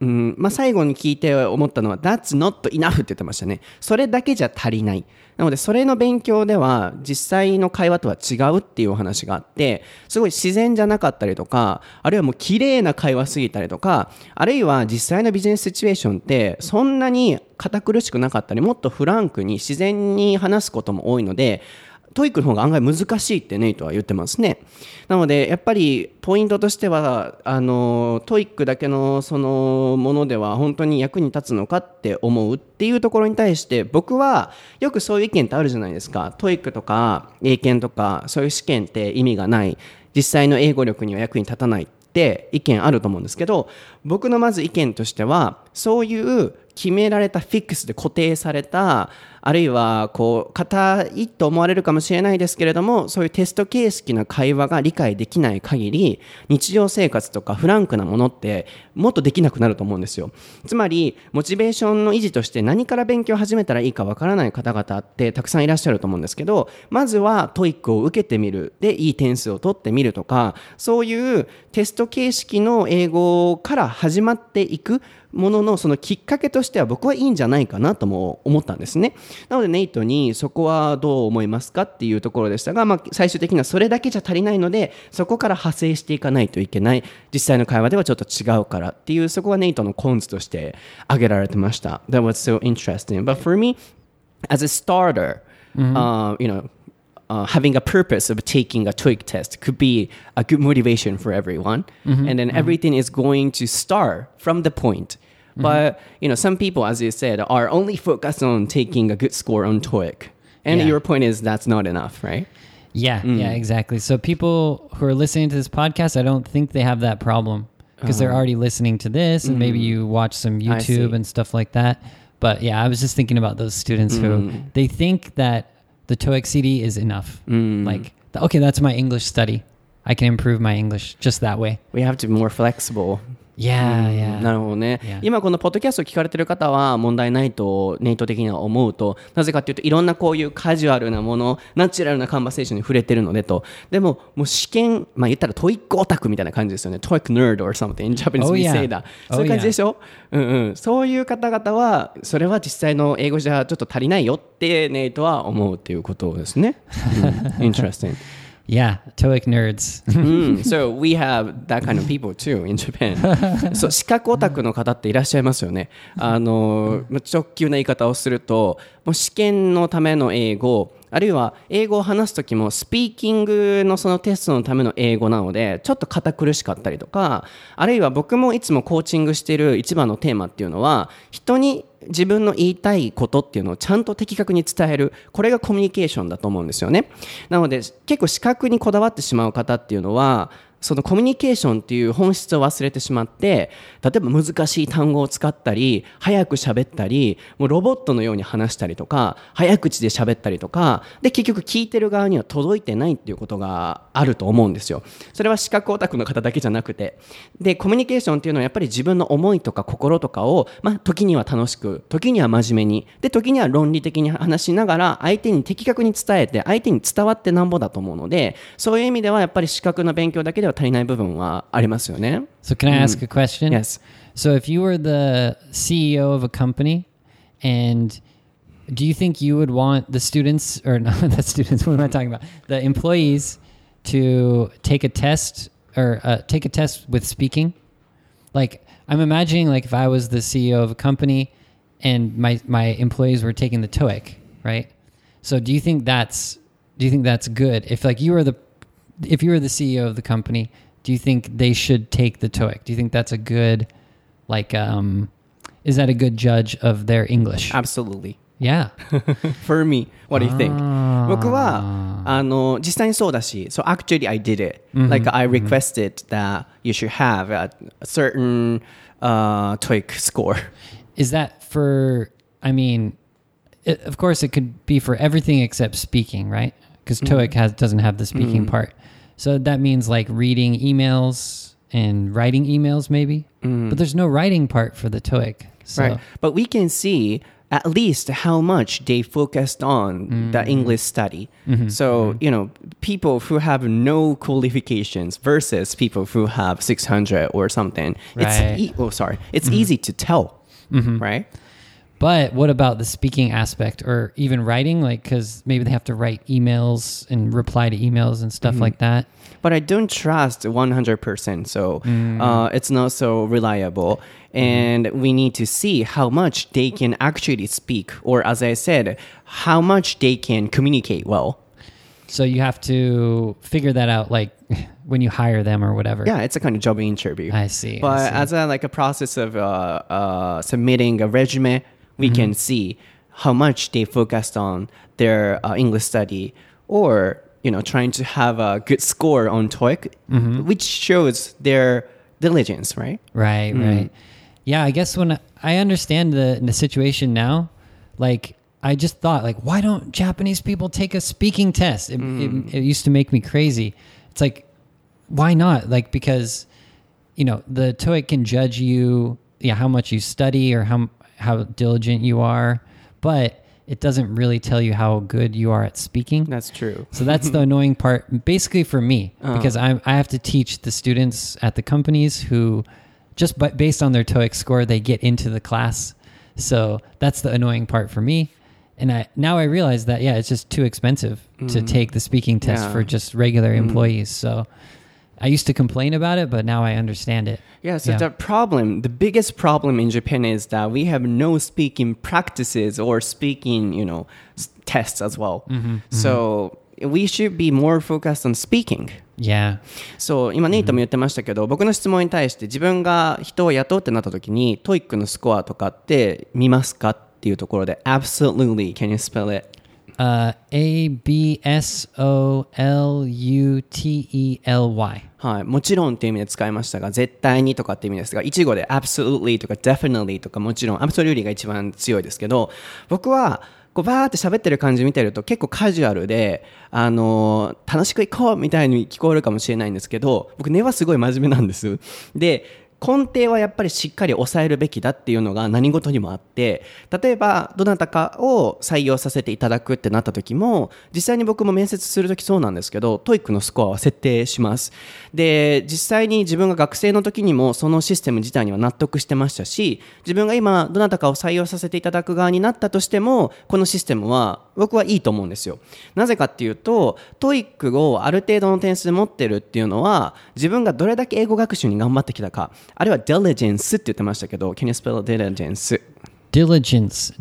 A: まあ、最後に聞いて思ったのは That's not enough って言ってましたね。それだけじゃ足りない。なのでそれの勉強では実際の会話とは違うっていうお話があって、すごい自然じゃなかったりとか、あるいはもう綺麗な会話すぎたりとか、あるいは実際のビジネスシチュエーションってそんなに堅苦しくなかったり、もっとフランクに自然に話すことも多いので、トイックの方が案外難しいってネイトは言ってますね。なのでやっぱりポイントとしてはトイックだけのそのものでは本当に役に立つのかって思うっていうところに対して、僕はよくそういう意見ってあるじゃないですか。トイックとか英検とかそういう試験って意味がない、実際の英語力には役に立たないって意見あると思うんですけど、僕のまず意見としては、そういう決められたフィックスで固定された、あるいはこう硬いと思われるかもしれないですけれども、そういうテスト形式な会話が理解できない限り、日常生活とかフランクなものってもっとできなくなると思うんですよ。つまりモチベーションの維持として何から勉強を始めたらいいかわからない方々ってたくさんいらっしゃると思うんですけど、まずはトイックを受けてみる、でいい点数を取ってみるとか、そういうテスト形式の英語から始まっていくものの、そのきっかけとしては僕はいいんじゃないかなとも思ったんですね。なのでネイトにそこはどう思いますかっていうところでしたが、最終的にはそれだけじゃ足りないので、そこから派生していかないといけない、実際の会話ではちょっと違うからっていう、そこはネイトのコンツとして挙げられてました。 That was so interesting. But for me, as a starter, having a purpose of taking a TOEIC test could be a good motivation for everyone. And then everything is going to start from the point. But, some people, as you said, are only focused on taking a good score on TOEIC. And
B: Yeah.
A: your point is that's not enough, right?
B: Yeah, exactly. So people who are listening to this podcast, I don't think they have that problem because they're already listening to this, and maybe you watch some YouTube and stuff like that. But yeah, I was just thinking about those students who they think that the TOEIC CD is enough. Like, okay, that's my English study. I can improve my English just that way.
A: We have to be more flexible.
B: Yeah.
A: なるほどね。
B: Yeah.
A: 今このポッドキャストを聞かれてる方は問題ないとネイト的には思うと、なぜかっていうと、いろんなこういうカジュアルなもの、ナチュラルなカンバセーションに触れてるのでと。でももう試験、言ったらトイックオタクみたいな感じですよね。トイック nerd or something in Japanese
B: Oh,
A: we
B: yeah.
A: say that. そういう感じでしょ。そういう方々はそれは実際の英語じゃちょっと足りないよってネイトは思うっていうことですね。Interesting.
B: Yeah, TOEIC nerds.
A: So we have that kind of people too in Japan. そう、資格オタクの方っていらっしゃいますよね。直球な言い方をすると、もう試験のための英語、あるいは英語を話すときもスピーキングのそのテストのための英語なので、ちょっと堅苦しかったりとか、あるいは僕もいつもコーチングしている一番のテーマっていうのは、人に自分の言いたいことっていうのをちゃんと的確に伝える、これがコミュニケーションだと思うんですよね。なので結構視覚にこだわってしまう方っていうのは、そのコミュニケーションっていう本質を忘れてしまって、例えば難しい単語を使ったり、早く喋ったり、もうロボットのように話したりとか、早口で喋ったりとかで、結局聞いてる側には届いてないっていうことがあると思うんですよ。それは視覚オタクの方だけじゃなくて、でコミュニケーションっていうのはやっぱり自分の思いとか心とかを、時には楽しく、時には真面目に、で時には論理的に話しながら相手に的確に伝えて、相手に伝わってなんぼだと思うので、そういう意味ではやっぱり視覚の勉強だけでは足りない部分はありますよね。
B: So can I ask a question?
A: Yes.
B: So if you were the CEO of a company, and do you think you would want the students, or not the students, what am I talking about? The employees to take a test, or take a test with speaking? Like, I'm imagining like if I was the CEO of a company and my employees were taking the TOEIC, right? So do you think that's good? If like you were the CEO of the company, do you think they should take the TOEIC? Do you think that's a good, like, is that a good judge of their English?
A: Absolutely.
B: Yeah.
A: For me, what do you think? 僕は実際にそうだし、so actually I did it. Like I requested that you should have a certain TOEIC score.
B: Is that for? I mean, of course, it could be for everything except speaking, right? Because TOEIC doesn't have the speaking part. So that means like reading emails and writing emails maybe. But there's no writing part for the TOEIC. So.
A: Right. But we can see at least how much they focused on the English study. So, people who have no qualifications versus people who have 600 or something,
B: Right.
A: it's easy to tell, right?
B: But what about the speaking aspect or even writing? Like, because maybe they have to write emails and reply to emails and stuff like that.
A: But I don't trust 100%, so it's not so reliable. And we need to see how much they can actually speak, or as I said, how much they can communicate well.
B: So you have to figure that out, like when you hire them or whatever.
A: Yeah, it's a kind of job interview.
B: I see.
A: But as a process of submitting a resume, we can see how much they focused on their English study, or trying to have a good score on TOEIC, which shows their diligence, right?
B: Right, right. Yeah, I guess when I understand the situation now, like I just thought, like, why don't Japanese people take a speaking test? It used to make me crazy. It's like, why not? Like, because the TOEIC can judge you, how much you study or how diligent you are, but it doesn't really tell you how good you are at speaking.
A: That's true.
B: So that's the annoying part, basically for me, because I have to teach the students at the companies who, just based on their TOEIC score, they get into the class. So that's the annoying part for me. And now I realize that, it's just too expensive to take the speaking test for just regular employees. So I used to complain about it, but now I understand it.
A: Yeah, so the biggest problem in Japan is that we have no speaking practices or speaking, tests as well. So we should be more focused on speaking.
B: Yeah.
A: そう、今ネイトも言ってましたけど、僕の質問に対して自分が人を雇うってなった時に、TOEIC のスコアとかって見ますかっていうところで、Absolutely, can you spell it?
B: ABSOLUTELY。
A: はい、もちろんっていう意味で使いましたが、絶対にとかっていう意味ですが、一語で absolutely とか definitely とかもちろん absolutely が一番強いですけど、僕はこうバーって喋ってる感じ見てると結構カジュアルで、楽しく行こうみたいに聞こえるかもしれないんですけど、僕根はすごい真面目なんです。で、根底はやっぱりしっかり抑えるべきだっていうのが何事にもあって、例えばどなたかを採用させていただくってなった時も、実際に僕も面接する時そうなんですけど、TOEIC のスコアは設定します。で、実際に自分が学生の時にもそのシステム自体には納得してましたし、自分が今どなたかを採用させていただく側になったとしても、このシステムは僕はいいと思うんですよ。なぜかっていうと、TOEIC をある程度の点数で持ってるっていうのは、自分がどれだけ英語学習に頑張ってきたか、あるいは diligence って言ってましたけど、Can you spell diligence?
B: Diligence.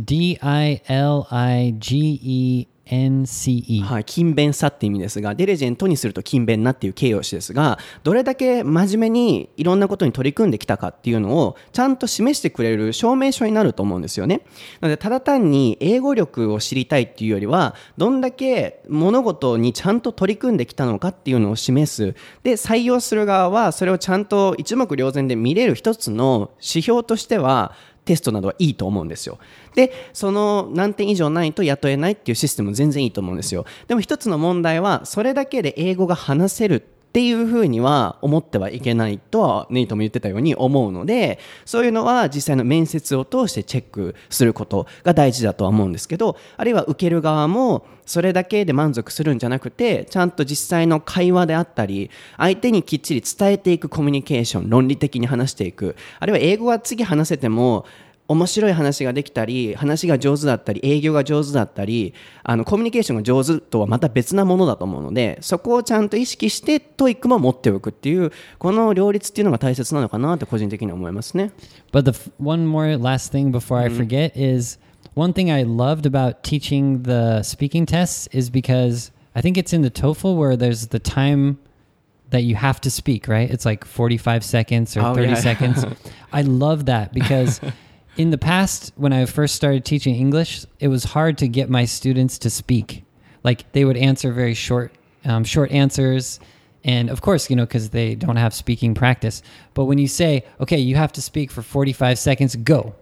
B: D-I-L-I-G-E-N-C-E。
A: はい、勤勉さって意味ですが、ディリジェントにすると勤勉なっていう形容詞ですが、どれだけ真面目にいろんなことに取り組んできたかっていうのをちゃんと示してくれる証明書になると思うんですよね。なので、ただ単に英語力を知りたいっていうよりは、どんだけ物事にちゃんと取り組んできたのかっていうのを示す。で、採用する側はそれをちゃんと一目瞭然で見れる一つの指標としては、テストなどはいいと思うんですよ。で、その何点以上ないと雇えないっていうシステムも全然いいと思うんですよ。でも一つの問題は、それだけで英語が話せるっていうふうには思ってはいけないとはネイトも言ってたように思うので、そういうのは実際の面接を通してチェックすることが大事だとは思うんですけど、あるいは受ける側もそれだけで満足するんじゃなくて、ちゃんと実際の会話であったり、相手にきっちり伝えていくコミュニケーション、論理的に話していく、あるいは英語は次話せても面白い話ができたり、話が上手だったり、営業が上手だったり、コミュニケーションが上手とはまた別なものだと思うので、そこをちゃんと意識してTOEICも持っておくっていう、この両立っていうのが大切なのかなって個人的に思いますね。
B: But one more last thing before I forget is one thing I loved about teaching the speaking tests is because I think it's in the TOEFL where there's the time that you have to speak, right? It's like 45 seconds or 30 seconds. I love that because in the past, when I first started teaching English, it was hard to get my students to speak. Like they would answer very short answers. And of course, because they don't have speaking practice. But when you say, okay, you have to speak for 45 seconds, go.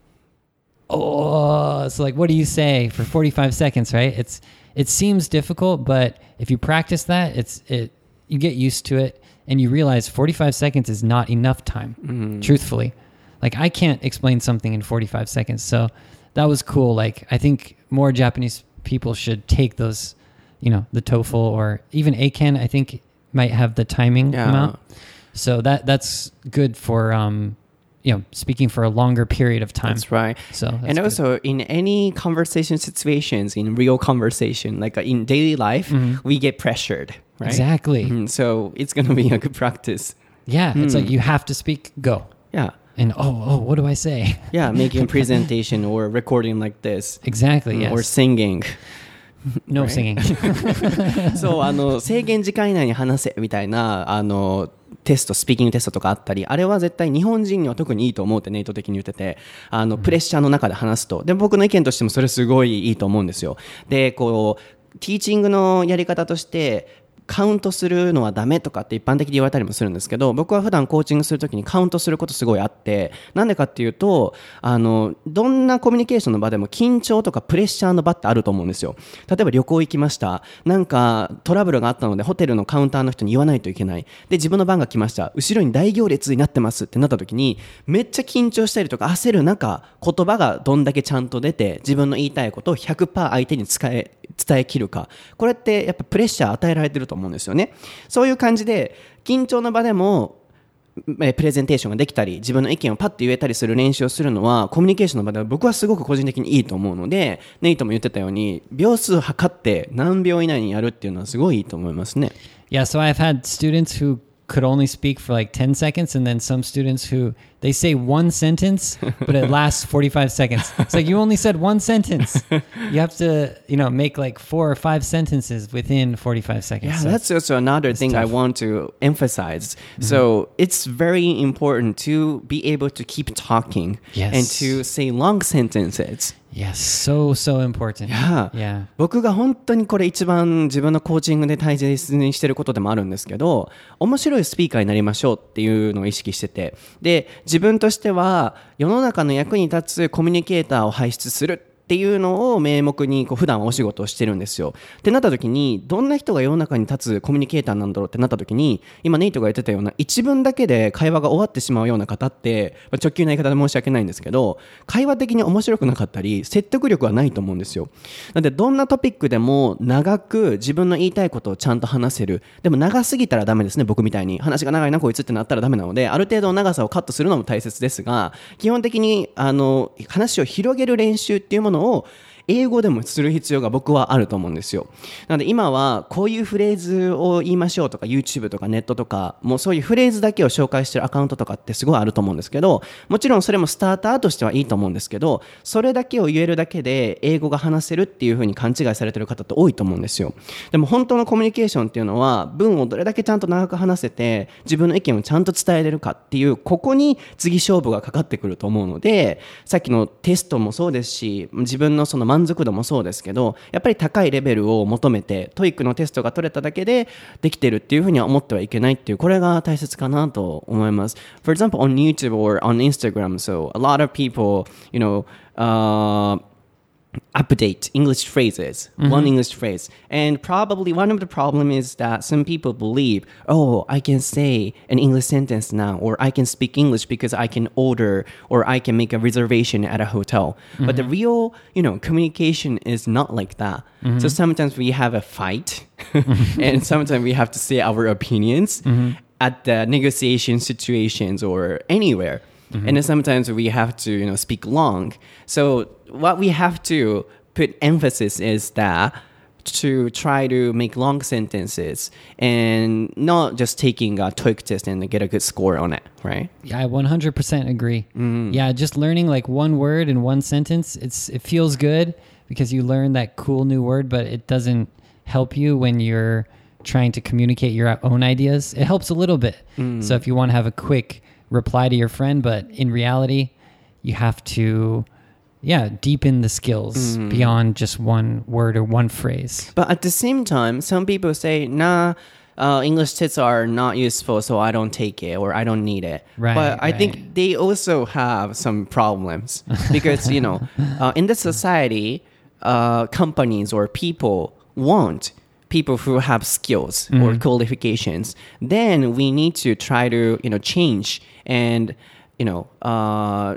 B: Oh, so like, what do you say for 45 seconds, right? It seems difficult, but if you practice that, you get used to it and you realize 45 seconds is not enough time, truthfully. Like I can't explain something in 45 seconds. So that was cool. Like, I think more Japanese people should take those, the TOEFL or even ACAN, I think might have the timing amount. So that's good for, speaking for a longer period of time.
A: That's right. And also in any conversation situations, in real conversation, like in daily life, we get pressured, right?
B: Exactly.
A: So it's going to be a good practice.
B: Yeah. It's like you have to speak, go.
A: Yeah.
B: And what do I say?
A: Yeah, making a presentation or recording like this.
B: Exactly, yes.
A: Or singing.
B: No singing.
A: そう、制限時間以内に話せみたいな、スピーキングテストとかあったり、あれは絶対日本人には特にいいと思うってネイト的に言ってて、プレッシャーの中で話すと。で、僕の意見としてもそれすごいいいと思うんですよ。で、ティーチングのやり方として、カウントするのはダメとかって一般的に言われたりもするんですけど、僕は普段コーチングするときにカウントすることすごいあって、なんでかっていうと、どんなコミュニケーションの場でも緊張とかプレッシャーの場ってあると思うんですよ。例えば旅行行きました。なんかトラブルがあったのでホテルのカウンターの人に言わないといけない。で、自分の番が来ました。後ろに大行列になってますってなったときに、めっちゃ緊張したりとか焦る中、言葉がどんだけちゃんと出て、自分の言いたいことを 100% 相手に伝えきるか。これってやっぱプレッシャー与えられてると思うんですよね。そういう感じで緊張の場でもプレゼンテーションができたり自分の意見をパッと言えたりする練習をするのはコミュニケーションの場では僕はすごく個人的にいいと思うので、ネイトも言ってたように秒数測って何秒以内にやるっていうのはすごいいいと思いますね。
B: Yeah, so I've had students who could only speak for like 10 seconds and then some students who they say one sentence but it lasts 45 seconds. It's like you only said one sentence. You have to, make like 4 or 5 sentences within 45 seconds.
A: Yeah,
B: so
A: that's also another thing
B: tough.
A: I want to emphasize. So it's very important to be able to keep talking and to say long sentences.
B: Yes, so important.
A: Yeah. 僕が本当にこれ一番自分のコーチングで大切にしてることでもあるんですけど、面白いスピーカーになりましょうっていうのを意識してて、で、自分としては世の中の役に立つコミュニケーターを輩出するっていうのを名目に普段はお仕事をしてるんですよ。ってなった時にどんな人が世の中に立つコミュニケーターなんだろうってなった時に、今ネイトが言ってたような一文だけで会話が終わってしまうような方って、直球な言い方で申し訳ないんですけど、会話的に面白くなかったり説得力はないと思うんですよ。なのでどんなトピックでも長く自分の言いたいことをちゃんと話せる。でも長すぎたらダメですね。僕みたいに話が長いなこいつってなったらダメなので、ある程度の長さをカットするのも大切ですが、基本的に話を広げる練習っていうものを英語でもする必要が僕はあると思うんですよ。なので今はこういうフレーズを言いましょうとか YouTube とかネットとかもうそういうフレーズだけを紹介してるアカウントとかってすごいあると思うんですけど、もちろんそれもスターターとしてはいいと思うんですけど、それだけを言えるだけで英語が話せるっていう風に勘違いされてる方って多いと思うんですよ。でも本当のコミュニケーションっていうのは文をどれだけちゃんと長く話せて自分の意見をちゃんと伝えれるかっていう、ここに次勝負がかかってくると思うので、さっきのテストもそうですし自分のその満足度もそうですけど、やっぱり高いレベルを求めてトイックのテストが取れただけでできてるっていうふうには思ってはいけないっていう、これが大切かなと思います。 For example on YouTube or on Instagram, so a lot of people update English phrases, one English phrase. And probably one of the problem is that some people believe, oh, I can say an English sentence now, or I can speak English because I can order, or I can make a reservation at a hotel. But the real, communication is not like that. So sometimes we have a fight, and sometimes we have to say our opinions at the negotiation situations or anywhere. And then sometimes we have to, speak long. So what we have to put emphasis is that to try to make long sentences and not just taking a TOEIC test and get a good score on it, right?
B: Yeah, I 100% agree. Yeah, just learning like one word in one sentence, it feels good because you learn that cool new word, but it doesn't help you when you're trying to communicate your own ideas. It helps a little bit. So if you want to have a quick reply to your friend, but in reality you have to deepen the skills beyond just one word or one phrase.
A: But at the same time, some people say, English tests are not useful, so I don't take it or I don't need it. But I think they also have some problems because, in this society, companies or people want people who have skills or qualifications. Then we need to try to, change and,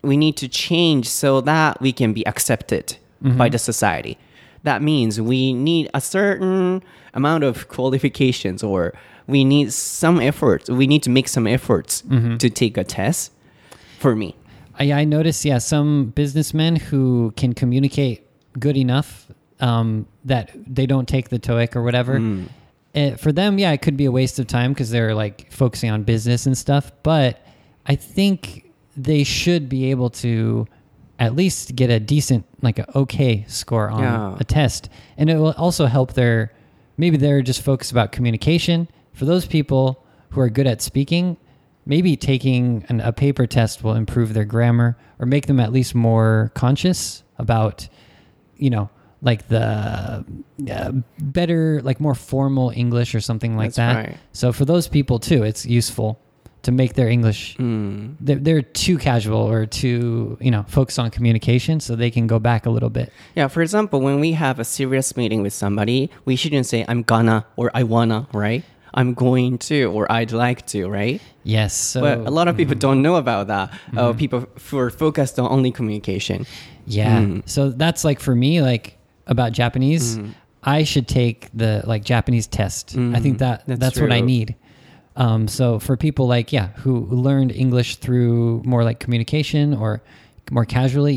A: we need to change so that we can be accepted by the society. That means we need a certain amount of qualifications, or we need some efforts. We need to make some efforts to take a test. For me,
B: I noticed, some businessmen who can communicate good enough that they don't take the TOEIC or whatever. For them, it could be a waste of time because they're like focusing on business and stuff. But I think they should be able to at least get a decent, like an okay score on a test. And it will also help maybe they're just focused about communication. For those people who are good at speaking, maybe taking a paper test will improve their grammar or make them at least more conscious about, like the better, like more formal English or something like that.
A: Right.
B: So for those people too, it's useful to make their English, they're too casual or too, focused on communication, so they can go back a little bit.
A: Yeah, for example, when we have a serious meeting with somebody, we shouldn't say, I'm gonna, or I wanna, right? I'm going to, or I'd like to, right?
B: Yes. So,
A: but a lot of people don't know about that. People who are focused on only communication.
B: Yeah. So that's like for me, like about Japanese, I should take the like Japanese test. I think that's what I need. So for people like, who learned English through more like communication or more casually,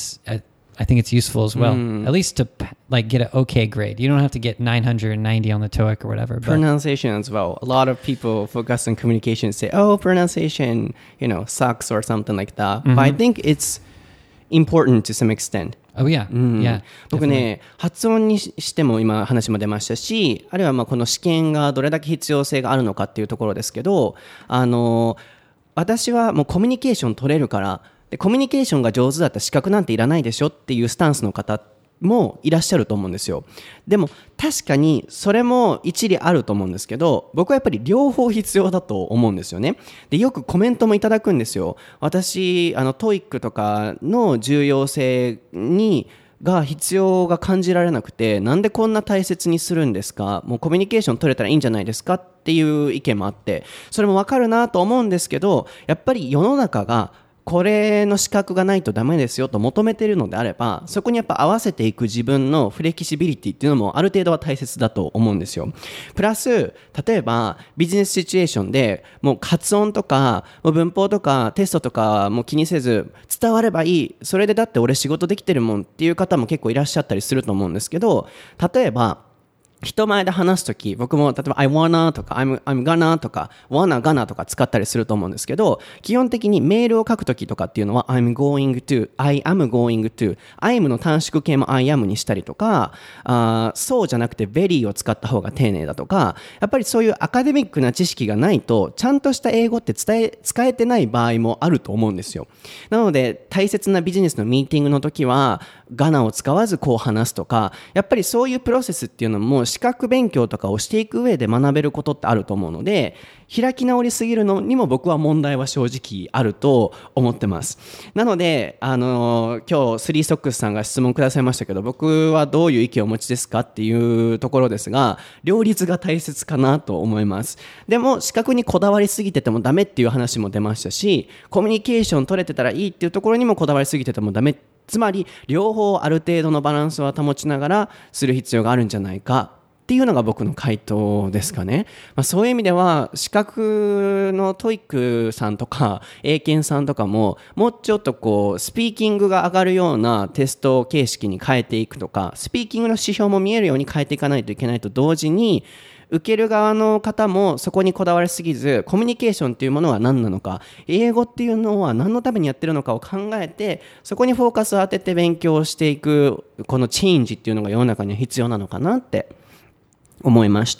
B: I think it's useful as well, at least to like get an okay grade. You don't have to get 990 on the TOEIC or whatever. But
A: pronunciation as well. A lot of people focus on communication and say, oh, pronunciation, sucks or something like that. But I think it's important to some extent.
B: Oh yeah. Yeah.
A: 僕ね、発音にしても今話も出ましたし、あるいはこの試験がどれだけ必要性があるのかっていうところですけど、私はもうコミュニケーション取れるから、でコミュニケーションが上手だったら資格なんていらないでしょっていうスタンスの方もいらっしゃると思うんですよ。でも確かにそれも一理あると思うんですけど、僕はやっぱり両方必要だと思うんですよね。でよくコメントもいただくんですよ。私TOEICとかの重要性が必要が感じられなくて、なんでこんな大切にするんですか、もうコミュニケーション取れたらいいんじゃないですかっていう意見もあって、それもわかるなと思うんですけど、やっぱり世の中がこれの資格がないとダメですよと求めているのであれば、そこにやっぱ合わせていく自分のフレキシビリティっていうのもある程度は大切だと思うんですよ。プラス例えばビジネスシチュエーションでもう発音とかもう文法とかテストとかも気にせず伝わればいい、それでだって俺仕事できてるもんっていう方も結構いらっしゃったりすると思うんですけど、例えば人前で話すとき、僕も例えば I wanna とか I'm gonna とか wanna gonna とか使ったりすると思うんですけど、基本的にメールを書くときとかっていうのは I'm going to I am going to I'm の短縮形も I am にしたりとか、そうじゃなくて very を使った方が丁寧だとか、やっぱりそういうアカデミックな知識がないとちゃんとした英語って使えてない場合もあると思うんですよ。なので大切なビジネスのミーティングの時はgonnaを使わずこう話すとか、やっぱりそういうプロセスっていうのも資格勉強とかをしていく上で学べることってあると思うので、開き直りすぎるのにも僕は問題は正直あると思ってます。なので今日スリーソックスさんが質問くださいましたけど、僕はどういう意見をお持ちですかっていうところですが、両立が大切かなと思います。でも資格にこだわりすぎててもダメっていう話も出ましたし、コミュニケーション取れてたらいいっていうところにもこだわりすぎててもダメ、つまり両方ある程度のバランスは保ちながらする必要があるんじゃないかっていうのが僕の回答ですかね。そういう意味では資格のTOEICさんとか英検さんとかももうちょっとこうスピーキングが上がるようなテスト形式に変えていくとか、スピーキングの指標も見えるように変えていかないといけないと同時に、受ける側の方もそこにこだわりすぎず、コミュニケーションっていうものは何なのか、英語っていうのは何のためにやってるのかを考えて、そこにフォーカスを当てて勉強していくこのチェンジっていうのが世の中には必要なのかなって思いました。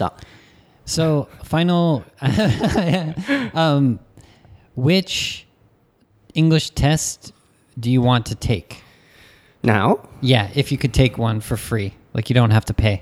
B: So final which English test do you want to take
A: Now?
B: Yeah, if you could take one for free, like you don't have to pay.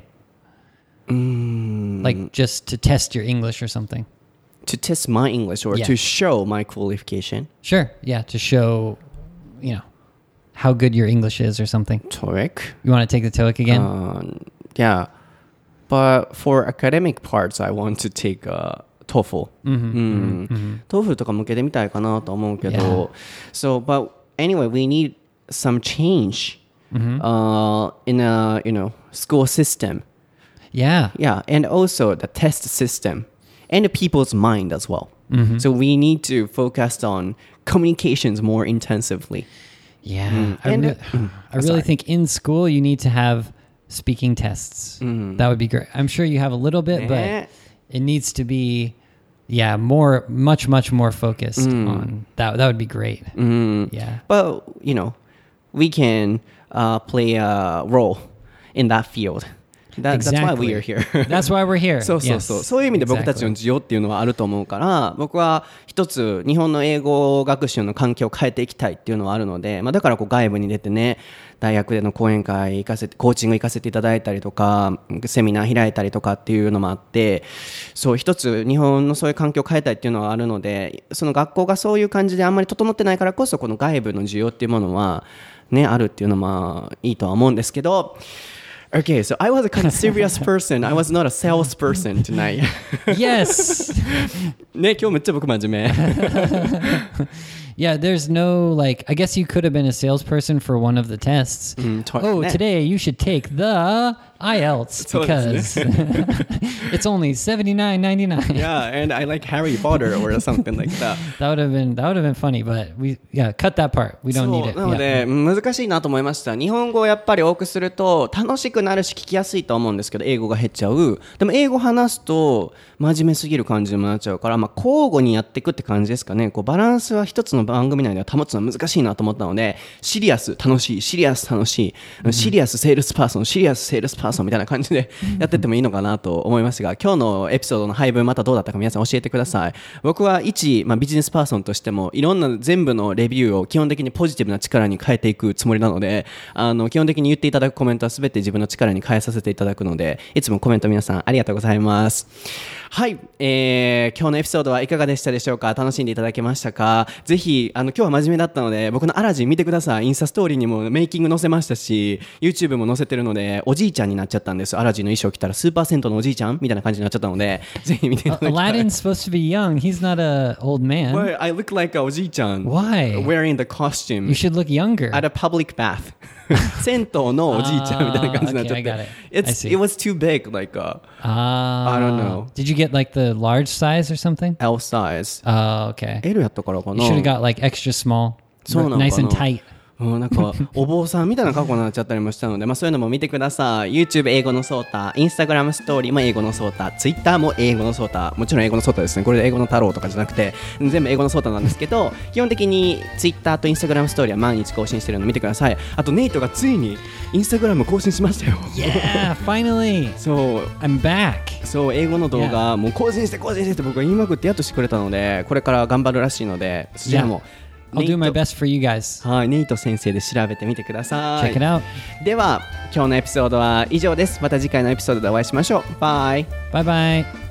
B: Like just to test your English or something.
A: To test my English or to show my qualification?
B: Sure, yeah, to show, how good your English is or something.
A: TOEIC?
B: You want to take the TOEIC again?
A: Yeah. But for academic parts, I want to take TOEFL. TOEFL とか向けてみたいかなと思うけど、So, but anyway, we need some change in a school system.
B: Yeah.
A: Yeah, and also the test system and the people's mind as well. So we need to focus on communications more intensively.
B: Yeah. I
A: And-
B: really think in school you need to have speaking tests. That would be great. I'm sure you have a little bit, but it needs to be much more focused on that. That would be great. Yeah.
A: But, we can play a role in that field. That's why we are here.
B: That's why we're here.
A: そうそうそう。そういう意味で僕たちの需要っていうのはあると思うから、僕は一つ日本の英語学習の環境を変えていきたいっていうのはあるので、だから外部に出てね、大学での講演会コーチング行かせていただいたりとか、セミナー開いたりとかっていうのもあって、そう一つ日本のそういう環境を変えたいっていうのはあるので、その学校がそういう感じであんまり整ってないからこそこの外部の需要っていうものはねあるっていうのはいいとは思うんですけど。Okay, so I was a kind of serious person. I was not a salesperson tonight.
B: Yes.
A: ね、今日めっちゃ僕真面目。
B: Yeah, there's no I guess you could have been a salesperson for one of the tests. Today you should take the IELTS because it's only $79.99.
A: Yeah, and I like Harry Potter or something like that.
B: That would have been funny, but cut that part. We don't need it.
A: なので、難しいなと思いました。日本語をやっぱり多くすると楽しくなるし聞きやすいと思うんですけど、英語が減っちゃう。でも英語話すと真面目すぎる感じにもなっちゃうから、交互にやっていくって感じですかね。バランスは一つの番組内では保つのは難しいなと思ったので、シリアス楽しい、シリアス楽しい、シリアスセールスパーソン、シリアスセールスパーソンみたいな感じでやってってもいいのかなと思いますが、今日のエピソードの配分またどうだったか皆さん教えてください。僕は一、ビジネスパーソンとしてもいろんな全部のレビューを基本的にポジティブな力に変えていくつもりなので、基本的に言っていただくコメントは全て自分の力に変えさせていただくので、いつもコメント皆さんありがとうございます。はい、今日のエピソードはいかがでしたでしょうか。楽しんでいただけましたか。ぜひ今日は真面目だったので僕のアラジン見てください。インスタストーリーにもメイキング載せましたし YouTube も載せてるので、おじいちゃんになっちゃったんです。アラジンの衣装着たらスーパー銭湯のおじいちゃんみたいな感じになっちゃったので、ぜひ見ていただきたい。
B: Aladdin's supposed to be young. He's not an old man.
A: Well, I look like a おじいちゃん
B: Why?
A: wearing the costume
B: You should look younger.
A: at a public bath. 銭湯のおじいちゃんみたいな感じになっちゃって、
B: Okay, I got it.
A: It was too big, like I don't know.
B: Did you get the large size or something?
A: L size.
B: Oh, okay.
A: L やったからかな。
B: You should have got extra small.
A: そうなのかな。
B: Nice and tight.
A: なんかお坊さんみたいな格好になっちゃったりもしたので、そういうのも見てください。 YouTube 英語のソータ、 Instagram ストーリーも英語のソータ、 Twitter も英語のソータ、もちろん英語のソータですね。これで英語の太郎とかじゃなくて全部英語のソータなんですけど、基本的に Twitter と Instagram ストーリーは毎日更新してるの見てください。あとネイトがついに Instagram 更新しましたよ。
B: Yeah, finally.
A: そう
B: I'm back.
A: そう、英語の動画もう更新してって僕が言いまくってやっとしてくれたので、これから頑張るらしいので、そちらも
B: I'll do my best for you guys.
A: はい、ネイト先生で調べてみてください。
B: Check it out.
A: では今日のエピソードは以上です。また次回のエピソードでお会いしましょう。バイ。
B: Bye bye.